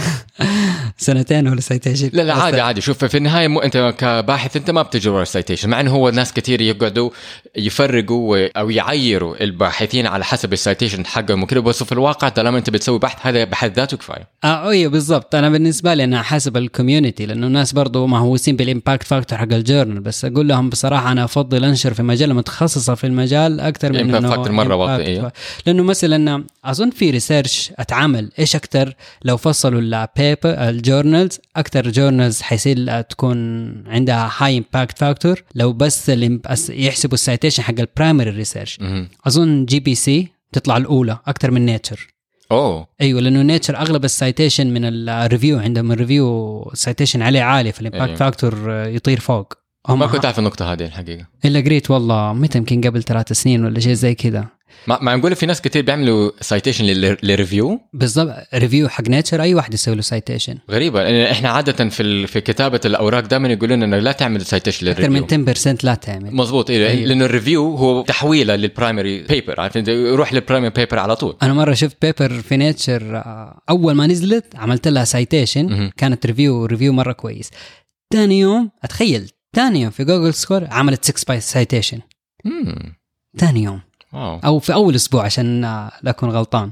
2 ولا سايتيشن. لا عادي. شوف في النهايه انت كباحث انت ما بتجي ورا السايتيشن، مع انه هو ناس كتير يقعدوا يفرقوا او يعيروا الباحثين على حسب السايتيشن حقهم وكده، بس في الواقع طالما انت بتسوي بحث هذا بحد ذاته كفايه. ايوه بالضبط. انا بالنسبه لي انا حاسب الكوميونتي، لانه الناس برضو مهووسين بالامباكت فاكتور حق الجورنال، بس اقول لهم بصراحه انا افضل انشر في مجله متخصصه في المجال اكثر من انه فاكتور مره واطي. لانه مثلا اظن في ريسيرش اتعمل ايش اكثر لو فصلوا البيبر الجورنالز، اكثر جورنالز حيصير تكون عندها هاي امباكت فاكتور لو بس يحسبوا السايتيشن حق البرايمري ريسيرش. اظن GBC تطلع الاولى اكثر من نيتشر. ايوه، لانه نيتشر اغلب السايتيشن من الريفيو عندهم الريفيو سايتيشن عليه عالي، فالامباكت فاكتور يطير فوق. ما كنت اعرف النقطه هذه الحقيقه الا قريت والله متى يمكن قبل 3 سنين ولا شيء زي كذا. ما نقول في ناس كتير بيعملوا سايتيشن للريفيو. بالضبط، ريفيو حق نيتشر اي واحد يسوي له سايتيشن. غريبه، لان احنا عاده في كتابه الاوراق دائما يقولون انه لا تعمل سايتيشن للريفيو اكثر من 10% لا تعمل. مظبوط. لانه الريفيو هو تحويله للبرايمري بيبر، عارف انت يروح للبرايمري بيبر على طول. انا مره شفت بيبر في نيتشر اول ما نزلت عملت لها سايتيشن، كانت ريفيو مره كويس. ثاني يوم اتخيل ثاني يوم في جوجل سكور عملت 6 سايتيشن. ثاني يوم او في اول اسبوع عشان لا اكون غلطان.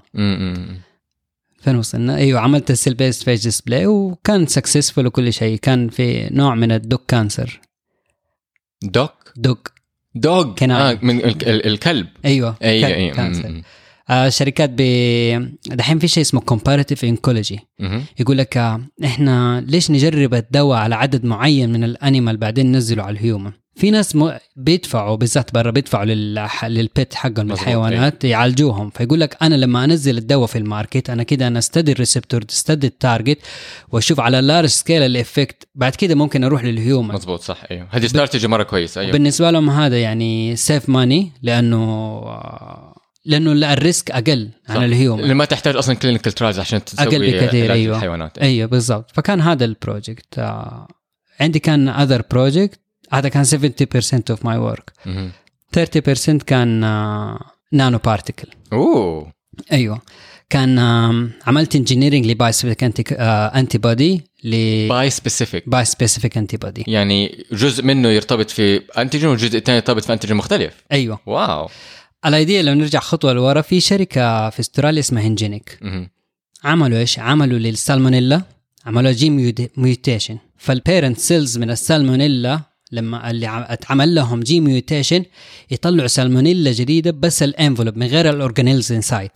فين وصلنا؟ ايوه، عملت السيل بيست بيج ديسبلاي وكان سكسسفول وكل شيء. كان في نوع من الدوك كانسر. دوك من الكلب. ايوه كانسر. شركات دحين في شيء اسمه comparative oncology. يقول لك احنا ليش نجرب الدواء على عدد معين من الانيمال بعدين ننزله على الهيومن. في ناس بيدفعوا بالذات برا بيدفعوا للبيت حقهم الحيوانات يعالجوهم، فيقول لك انا لما انزل الدواء في الماركت انا كده انا استدي الريسبتور استدي التارجت واشوف على اللارج سكيل الافكت، بعد كده ممكن اروح للهيومن. مظبوط صح. ايوه هذه استراتيجيه مره كويسه. ايوه بالنسبه لهم هذا يعني سيف ماني، لانه الريسك اقل عن الهيومن، اللي ما تحتاج اصلا كلينيكال ترايلز عشان تسوي اقل بكثير. ايوه الحيوانات. ايوه بالضبط. فكان هذا البروجكت. عندي كان other project، هذا كان 70% of my work. 30% كان نانو بارتيكل. ايوه كان عملت انجينيرنج لباي سبيسيفيك انتي بودي باي سبيسيفيك انتي بودي، يعني جزء منه يرتبط في انتيجين والجزء الثاني يرتبط في انتيجين مختلف. ايوه واو. الايديا لو نرجع خطوه لورا، في شركه في استراليا اسمها هنجينيك. عملوا ايش؟ عملوا للسالمونيلا عملوا جين ميوتيشن، فالبيرنت سيلز من السالمونيلا لما اللي اتعمل لهم جين ميوتيشن يطلعوا سالمونيلا جديده بس الانفلوب من غير الاورجانيلز انسايد.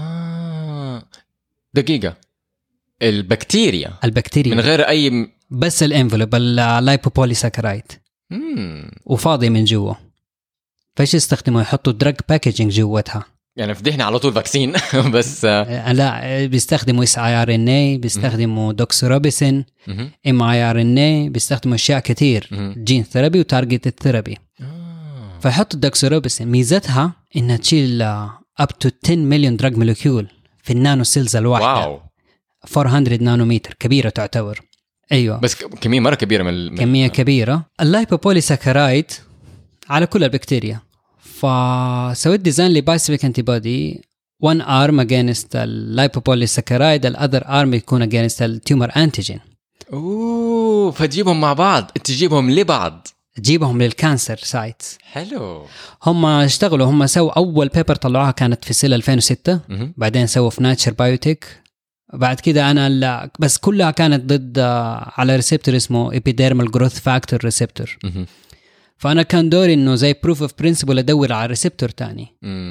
دقيقه، البكتيريا من غير اي بس الانفلوب اللايبوبوليساكرايد وفاضي من جوا. فايش يستخدموا؟ يحطوا دراج باكيجينج جواتها. يعني فدحنا على طول فاكسين بس لا، بيستخدموا SIRNA، بيستخدموا دوكسوروبيسين، mRNA، بيستخدموا اشياء كتير، جين ثيرابي وتارجت الثيرابي. فيحطوا الدوكسوروبيسين ميزتها انها تشيل up to 10 مليون دراج مولكيول في النانو سيلز الواحده. واو. 400 نانومتر، كبيره تعتبر. ايوه بس كميه مره كبيره كميه كبيره. اللايبوبوليساكرايد على كل البكتيريا، فسويت ديزاين لبايسبيك انتي بودي 1 arm against اللايبوبوليساكرايد، الأذر arm يكون against التيومر أنتيجين. فتجيبهم مع بعض، تجيبهم لبعض، تجيبهم للكانسر سايتس. حلو. هم اشتغلوا، هم سووا أول بيبر طلعوها كانت في سيل 2006. بعدين سووا في ناتشر بايوتيك. بعد كده أنا بس كلها كانت ضد على ريسبتور اسمه epidermal growth factor receptor. فأنا كان دوري إنه زي proof of principle أدور على ريسبتور تاني.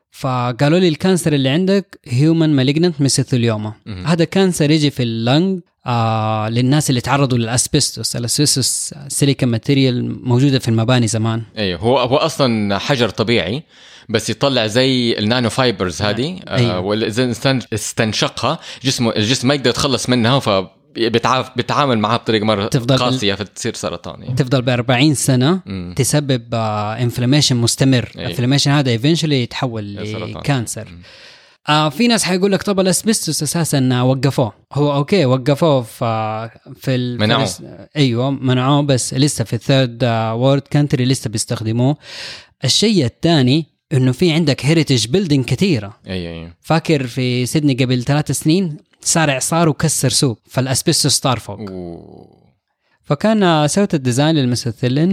فقالوا لي الكانسر اللي عندك هيومن مالجننت ميسيثيليوما. هذا كانسر يجي في اللنج للناس اللي تعرضوا للأسبستوس. الأسبستوس سيليكا ماتيريال موجودة في المباني زمان. أيوه هو أصلا حجر طبيعي بس يطلع زي النانو فايبرز هذه. أيوه. والإنسان استنشقها الجسم ما يقدر يتخلص منها بيتعامل معها بطريقة مرة قاسية فتصير سرطان يعني. تفضل ب40 سنة تسبب انفلاميشن مستمر. الانفلاميشن هذا eventually يتحول لكانسر. في ناس حيقول لك طب الاسبستوس اساسا وقفوه. هو اوكي وقفوه في منعوه. ايوه منعوه بس لسه في الثيرد وورد كانتري لسه بيستخدموه. الشيء الثاني انه في عندك هيريتج بيلدينج كثيره. ايوه فاكر في سيدني قبل 3 سنين صار إعصار وكسر سوق فالأسبستوس صار فوق. فكان سويت الديزاين للميثيلين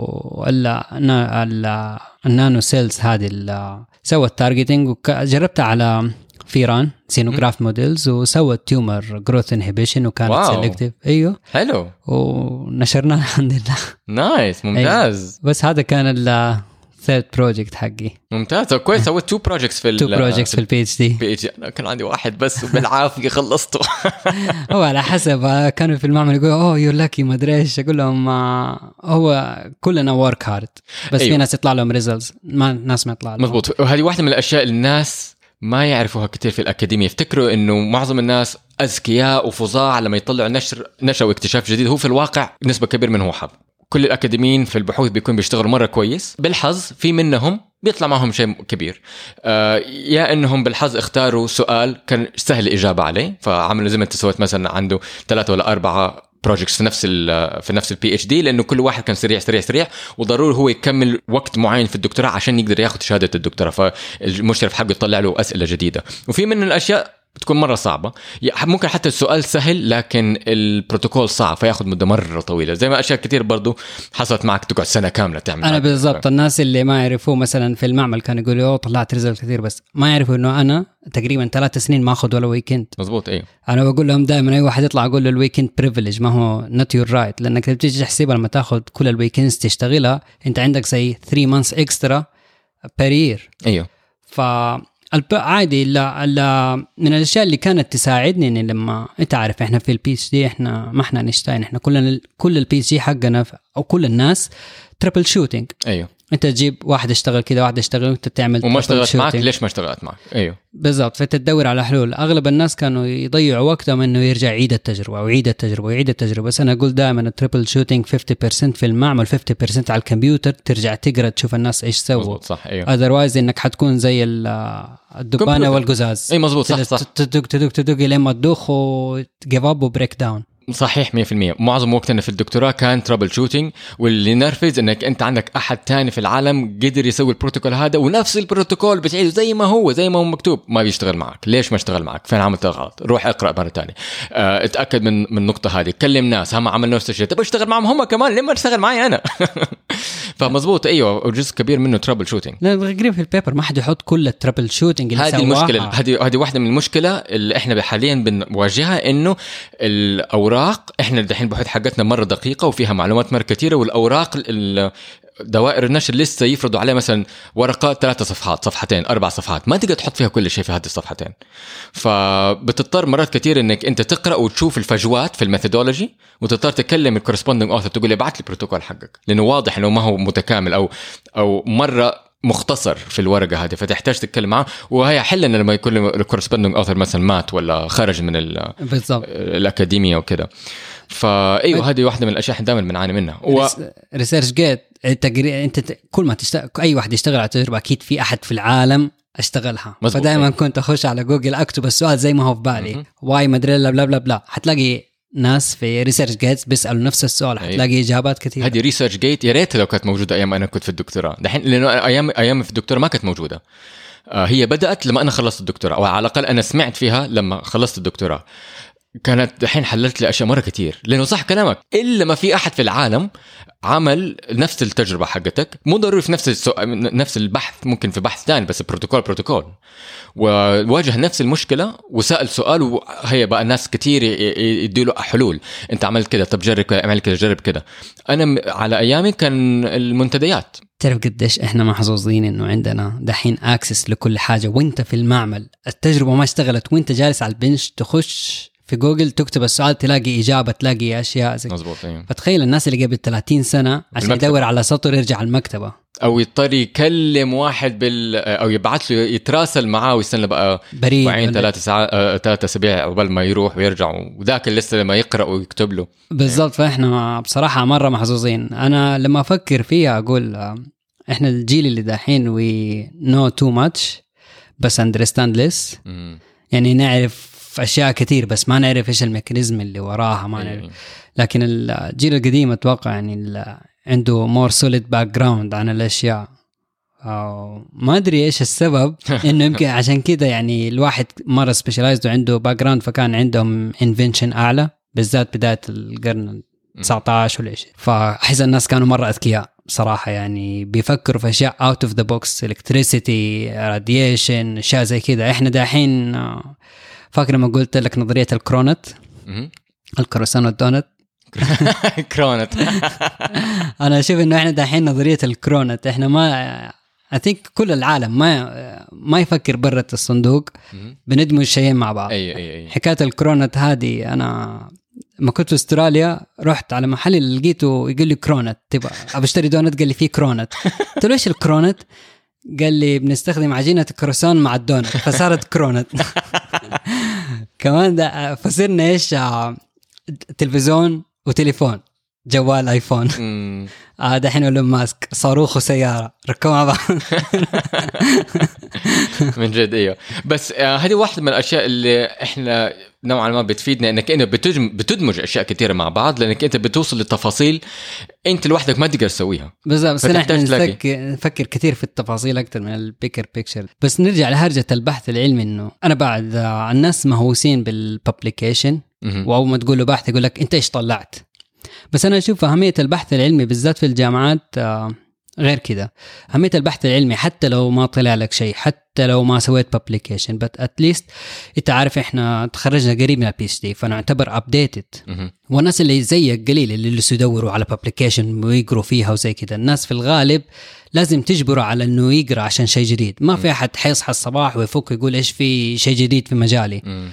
النانو سيلز هذه سوى التارجتينج وجربتها على فيران سينوغراف موديلز وسوت تيومر جروث انهبيشن وكانت سيلكتيف. ايوه حلو ونشرناها الحمد لله. نايس ممتاز. أيوه. بس هذا كان ثيرد بروجكت حقي. ممتاز كويس. سويت 2 بروجكتس في البي اتش دي. انا كان عندي واحد بس وبالعافيه خلصته. هو على حسب كانوا في المعمل يقولوا يور لاكي ما ادري ايش اقول لهم هو كلنا ورك هارد بس أيوه. في ناس يطلع لهم ريزلتس ناس ما يطلع لهم. مزبوط. وهذه واحدة من الاشياء اللي الناس ما يعرفوها كتير في الأكاديمية. يفتكروا إنه معظم الناس أذكياء وفظاع لما يطلعوا نشر واكتشاف جديد. هو في الواقع نسبة كبيرة منه حب. كل الأكاديميين في البحوث بيكون بيشتغلوا مرة كويس. بالحظ في منهم بيطلع معهم شيء كبير. يا إنهم بالحظ اختاروا سؤال كان سهل الإجابة عليه فعملوا زي ما انت سويت مثلا عنده 3 ولا 4 بروجكتس في نفس البي اتش دي لأنه كل واحد كان سريع وضروري هو يكمل وقت معين في الدكتوراه عشان يقدر ياخد شهادة الدكتوراه. فالمشرف حقه يطلع له أسئلة جديدة. وفي من الأشياء بتكون مرة صعبة. ممكن حتى السؤال سهل لكن البروتوكول صعب فياخد مدة مرة طويلة. زي ما أشياء كتير برضو حصلت معك تقعد سنة كاملة تعمل. أنا بالضبط الناس اللي ما يعرفوا مثلا في المعمل كانوا يقولوا طلعت ريزلت كثير بس ما يعرفوا إنه أنا تقريبا 3 سنين ما أخذ ولا ويكند. مزبوط. أيوه أنا بقول لهم دائما أي واحد يطلع أقول له الويكند بريفيليج ما هو not your right لأنك بتيجي تحسبها لما تاخذ كل الويكندز تشتغلها أنت عندك زي 3 months extra per year. أيوه عادي. لا من الاشياء اللي كانت تساعدني ان لما انت عارف احنا في البي اتش دي احنا ما احنا نشتاين احنا كل البي اتش دي حقنا او كل الناس تربل شوتينج. ايوه انت تجيب واحد يشتغل كذا واحد يشتغل وانت تعمل وما اشتغلت معك ليش ما اشتغلت معك. ايوه بالضبط. فتدور على حلول. اغلب الناس كانوا يضيعوا وقتهم انه يرجع يعيد التجربه ويعيد التجربه ويعيد التجربه. بس انا اقول دائما التريبل شوتينج 50% في المعمل 50% على الكمبيوتر ترجع تقرا تشوف الناس ايش سووا. صح. ايوه اذروايز انك حتكون زي الدبانه والقزاز. اي مزبوط صح تدق لما تدوخ وجيف اب وبريك داون. صحيح 100%. معظم وقتنا في الدكتوراه كان ترابل شوتينج واللي نرفز انك انت عندك احد تاني في العالم قدر يسوي البروتوكول هذا ونفس البروتوكول بتعيده زي ما هو مكتوب ما بيشتغل معك. ليش ما اشتغل معك؟ فين عملت غلط؟ روح اقرا مره ثانيه. اتاكد من النقطه هذه. كلم ناس هم عملوا نفس الشيء تبغى اشتغل معهم هم كمان ليه ما تشتغل معي انا؟ فمزبوط. ايوه جزء كبير منه ترابل شوتينج. لا غير في البيبر ما حد يحط كل الترابل شوتينج اللي هذه المشكله. هذه واحده من المشكله اللي احنا حاليا بنواجهها انه الاوراق احنا الحين البحوث حقتنا مره دقيقه وفيها معلومات مره كثيره والاوراق دوائر النشر لسه يفرضوا عليه مثلا ورقات 3 صفحات 2 4 صفحات ما تقدر تحط فيها كل شيء في هذه الصفحتين. فبتضطر مرات كثير انك انت تقرا وتشوف الفجوات في الميثودولوجي وتضطر تكلم الكورسبوندينج اوثر تقول لي ابعث لي البروتوكول حقك لانه واضح انه ما هو متكامل او مره مختصر في الورقه هذه فتحتاج تتكلم معه. وهي حلنا لما يكون الكورسبوندينج اوثر مثلا مات ولا خرج من الاكاديميه وكذا. فايوه هذه واحده من الاشياء احنا دائما بنعاني منها. ريسيرش جيت انت كل ما تشتغل اي واحد يشتغل على تجربه اكيد في احد في العالم اشتغلها. فدائما كنت اخش على جوجل اكتب السؤال زي ما هو في بالي واي مدري بلا بلا بلا حتلاقي ناس في ريسيرش جيتس بيسالوا نفس السؤال حتلاقي اجابات كثيره. هذه ريسيرش جيت يا ريت لو كانت موجوده ايام انا كنت في الدكتوراه دحين لانه ايام في الدكتوراه ما كانت موجوده. هي بدات لما انا خلصت الدكتوراه او على الاقل انا سمعت فيها لما خلصت الدكتوراه. كانت الحين حللت لي اشياء مره كتير لانه صح كلامك الا ما في احد في العالم عمل نفس التجربه حقتك. مو ضروري في نفس البحث ممكن في بحث ثاني بس بروتوكول وواجه نفس المشكله وسال سؤال وهي بقى الناس كتير يديله حلول. انت عملت كده طب جرب كده اعمل كده جرب كده. انا على ايامي كان المنتديات تعرف قديش احنا محظوظين انه عندنا دحين اكسس لكل حاجة، وانت في المعمل التجربة ما اشتغلت وانت جالس على البنش تخش في جوجل تكتب السؤال تلاقي إجابة، تلاقي أشياء زي مظبوط. أيوه. فتخيل الناس اللي قبل 30 سنة عشان يدور على سطر يرجع المكتبة أو يضطر يكلم واحد أو يبعث له يتراسل معاه ويستنى بقى بريد 3 أسابيع قبل ما يروح ويرجع، وذاك لسه لما يقرأ ويكتب له. بالضبط. فإحنا بصراحة مرة محظوظين. أنا لما أفكر فيها أقول إحنا الجيل اللي دحين we know too much بس understand less. يعني نعرف أشياء كتير بس ما نعرف إيش الميكانيزم اللي وراها، ما نعرف. لكن الجيل القديم أتوقع يعني عنده more solid background عن الأشياء. ما أدري إيش السبب إنه يمكن عشان كده يعني الواحد مرة specialized وعنده background فكان عندهم invention أعلى، بالذات بداية القرن 19 ولا شيء. فأحس الناس كانوا مرة أذكياء بصراحة، يعني بيفكروا في أشياء out of the box، electricity radiation أشياء زي كده. إحنا داحين فاكر لما قلت لك نظرية الكرونت، الكروسان والدونت كرونت. أنا أشوف إنه إحنا دحين نظرية الكرونت. إحنا ما I think كل العالم ما يفكر برة الصندوق، بندمج شيئين مع بعض. أي. حكاية الكرونت هذه أنا ما كنت في استراليا رحت على محل اللي لقيته يقول لي كرونت، تبغى أشتري دونت؟ قال لي فيه كرونت. قلت له إيش الكرونت؟ قال لي بنستخدم عجينة الكروسان مع الدونت فصارت كرونت. كمان ده فصرنا إيش تلفزيون وتليفون، جوال آيفون. دحين أقول ماسك صاروخ وسيارة ركبوا مع بعض. من جد. ايوه بس هذه واحدة من الاشياء اللي احنا نوعا ما بتفيدنا، انك انت بتدمج اشياء كثيره مع بعض، لانك انت بتوصل للتفاصيل انت لوحدك ما تقدر تسويها. بس احنا نفكر كثير في التفاصيل اكثر من البيكر بيكتشر. بس نرجع لهرجة البحث العلمي، انه انا بعد الناس مهووسين بالببليكيشن، واول ما تقول له بحث يقول لك انت ايش طلعت. بس انا اشوف اهميه البحث العلمي بالذات في الجامعات غير كده. أهمية البحث العلمي حتى لو ما طلع لك شيء، حتى لو ما سويت publication، but at least أنت عارف إحنا تخرجنا قريب من PhD فنعتبر updated. والناس اللي زيك قليل اللي يدوروا على publication ويقروا فيها وزي كده. الناس في الغالب لازم تجبروا على إنه يقرأ عشان شيء جديد. ما في أحد حيصحى الصباح ويفك يقول إيش في شيء جديد في مجالي.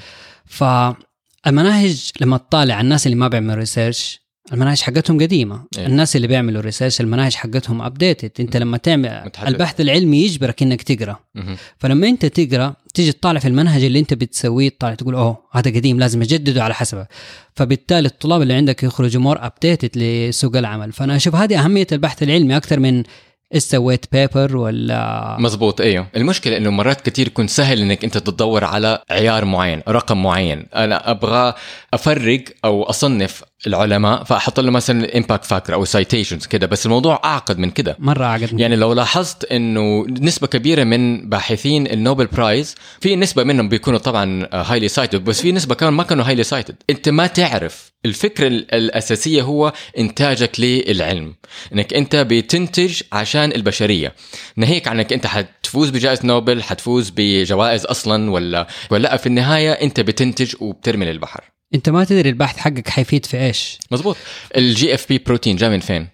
فالمناهج لما تطالع الناس اللي ما بيعملوا ريسيرش المناهج حقتهم قديمة. الناس اللي بيعملوا ريسيرش المناهج حقتهم أبديتد. أنت لما تعمل البحث العلمي يجبرك إنك تقرأ. فلما أنت تقرأ تيجي تطالع في المنهج اللي أنت بتسويه، تطالع تقول أوه هذا قديم لازم أجدده على حسبه. فبالتالي الطلاب اللي عندك يخرجوا مور أبديتد لسوق العمل. فأنا أشوف هذه أهمية البحث العلمي أكثر من سويت بيبر ولا. مزبوط. ايوه المشكله انه مرات كتير يكون سهل انك انت تدور على عيار معين، رقم معين. انا ابغى افرق او اصنف العلماء فاحط له مثلا امباكت فاكتور او سايتيشنز كده، بس الموضوع اعقد من كده، مره اعقد. يعني لو لاحظت انه نسبه كبيره من باحثين النوبل برايز في نسبه منهم بيكونوا طبعا هايلي سايتد، بس في نسبه كمان ما كانوا هايلي سايتد. انت ما تعرف الفكره الاساسيه هو انتاجك للعلم، انك انت بتنتج عشان البشريه، ناهيك عنك انت حتفوز بجائزه نوبل، حتفوز بجوائز اصلا ولا في النهايه انت بتنتج وبترمي للبحر. انت ما تدري البحث حقك حيفيد في ايش. مزبوط. الجي اف بي بروتين جاء من فين؟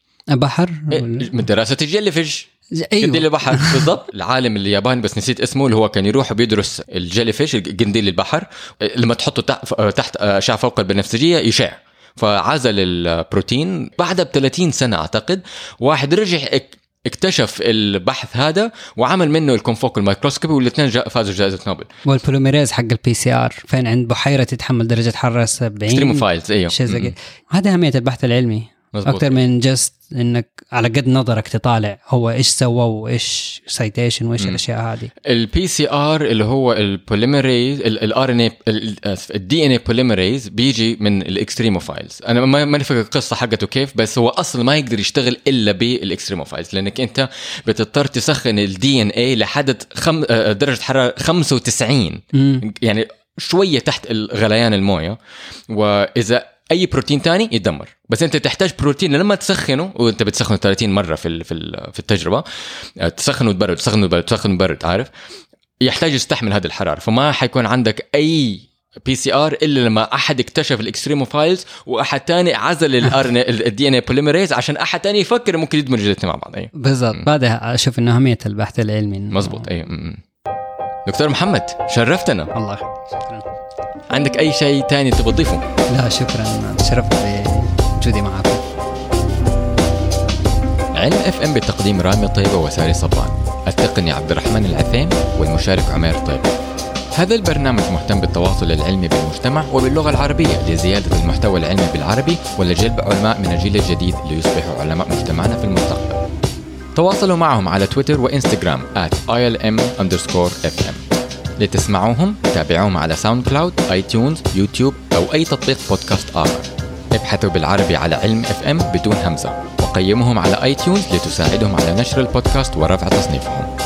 بحر من دراسه الجيليفيش. أيوة. قنديل البحر. بالضبط. العالم الياباني بس نسيت اسمه، اللي هو كان يروح بيدرس الجيليفيش قنديل البحر، لما تحطه تحت أشعة فوق البنفسجية يشع، فعزل البروتين. بعد ب30 سنة أعتقد واحد رجع اكتشف البحث هذا وعمل منه الكونفوكال مايكروسكوبي، والاثنين فازوا جائزة نوبل. والبوليميريز حق الPCR فين عند بحيرة تتحمل درجة حرارة 70 اكستريموفايلز. ايوه هذا أهمية البحث العلمي. مزبوط. أكتر من جست إنك على قد نظرك تطالع هو إيش سوى وإيش سايتيشن وإيش الأشياء هذه. الPCR اللي هو البوليميريز الRNA الDNA بوليميريز بيجي من الإكستريموفايلز. أنا ما نفهم القصة حقته كيف، بس هو أصلا ما يقدر يشتغل إلا بالإكستريموفايلز، لأنك أنت بتضطر تسخن الDNA لحد درجة حرارة 95 يعني شوية تحت غليان الموية، وإذا اي بروتين تاني يتدمر. بس انت تحتاج بروتين لما تسخنه، وانت بتسخنه 30 مره في التجربه، تسخنه وتبرد، عارف، يحتاج يستحمل هذه الحراره، فما حيكون عندك اي PCR إلا لما أحد اكتشف الإكستريموفايلز وأحد تاني عزل الدي ان اي بوليميريز عشان أحد تاني يفكر ممكن يدمج الاثنين مع بعض. أيوة بالضبط. بعدها أشوف إنه أهمية البحث العلمي. مزبوط. أيوة. دكتور محمد شرفتنا. الله يخليك. شكرا. عندك أي شيء تاني تبغى تضيفه؟ لا شكرا، تشرفت بوجودي معكم. علم اف ام بتقديم رامي طيبة وساري صبان، التقني عبد الرحمن العثيم، والمشارك عمير طيبة. هذا البرنامج مهتم بالتواصل العلمي بالمجتمع وباللغة العربية لزيادة المحتوى العلمي بالعربي ولجلب علماء من الجيل الجديد ليصبحوا علماء مجتمعنا في المستقبل. تواصلوا معهم على تويتر وإنستغرام @ilm_fm. لتسمعوهم تابعوهم على ساوند كلاود، اي تيونز، يوتيوب أو أي تطبيق بودكاست آخر. ابحثوا بالعربي على علم اف ام بدون همزة، وقيموهم على اي تيونز لتساعدهم على نشر البودكاست ورفع تصنيفهم.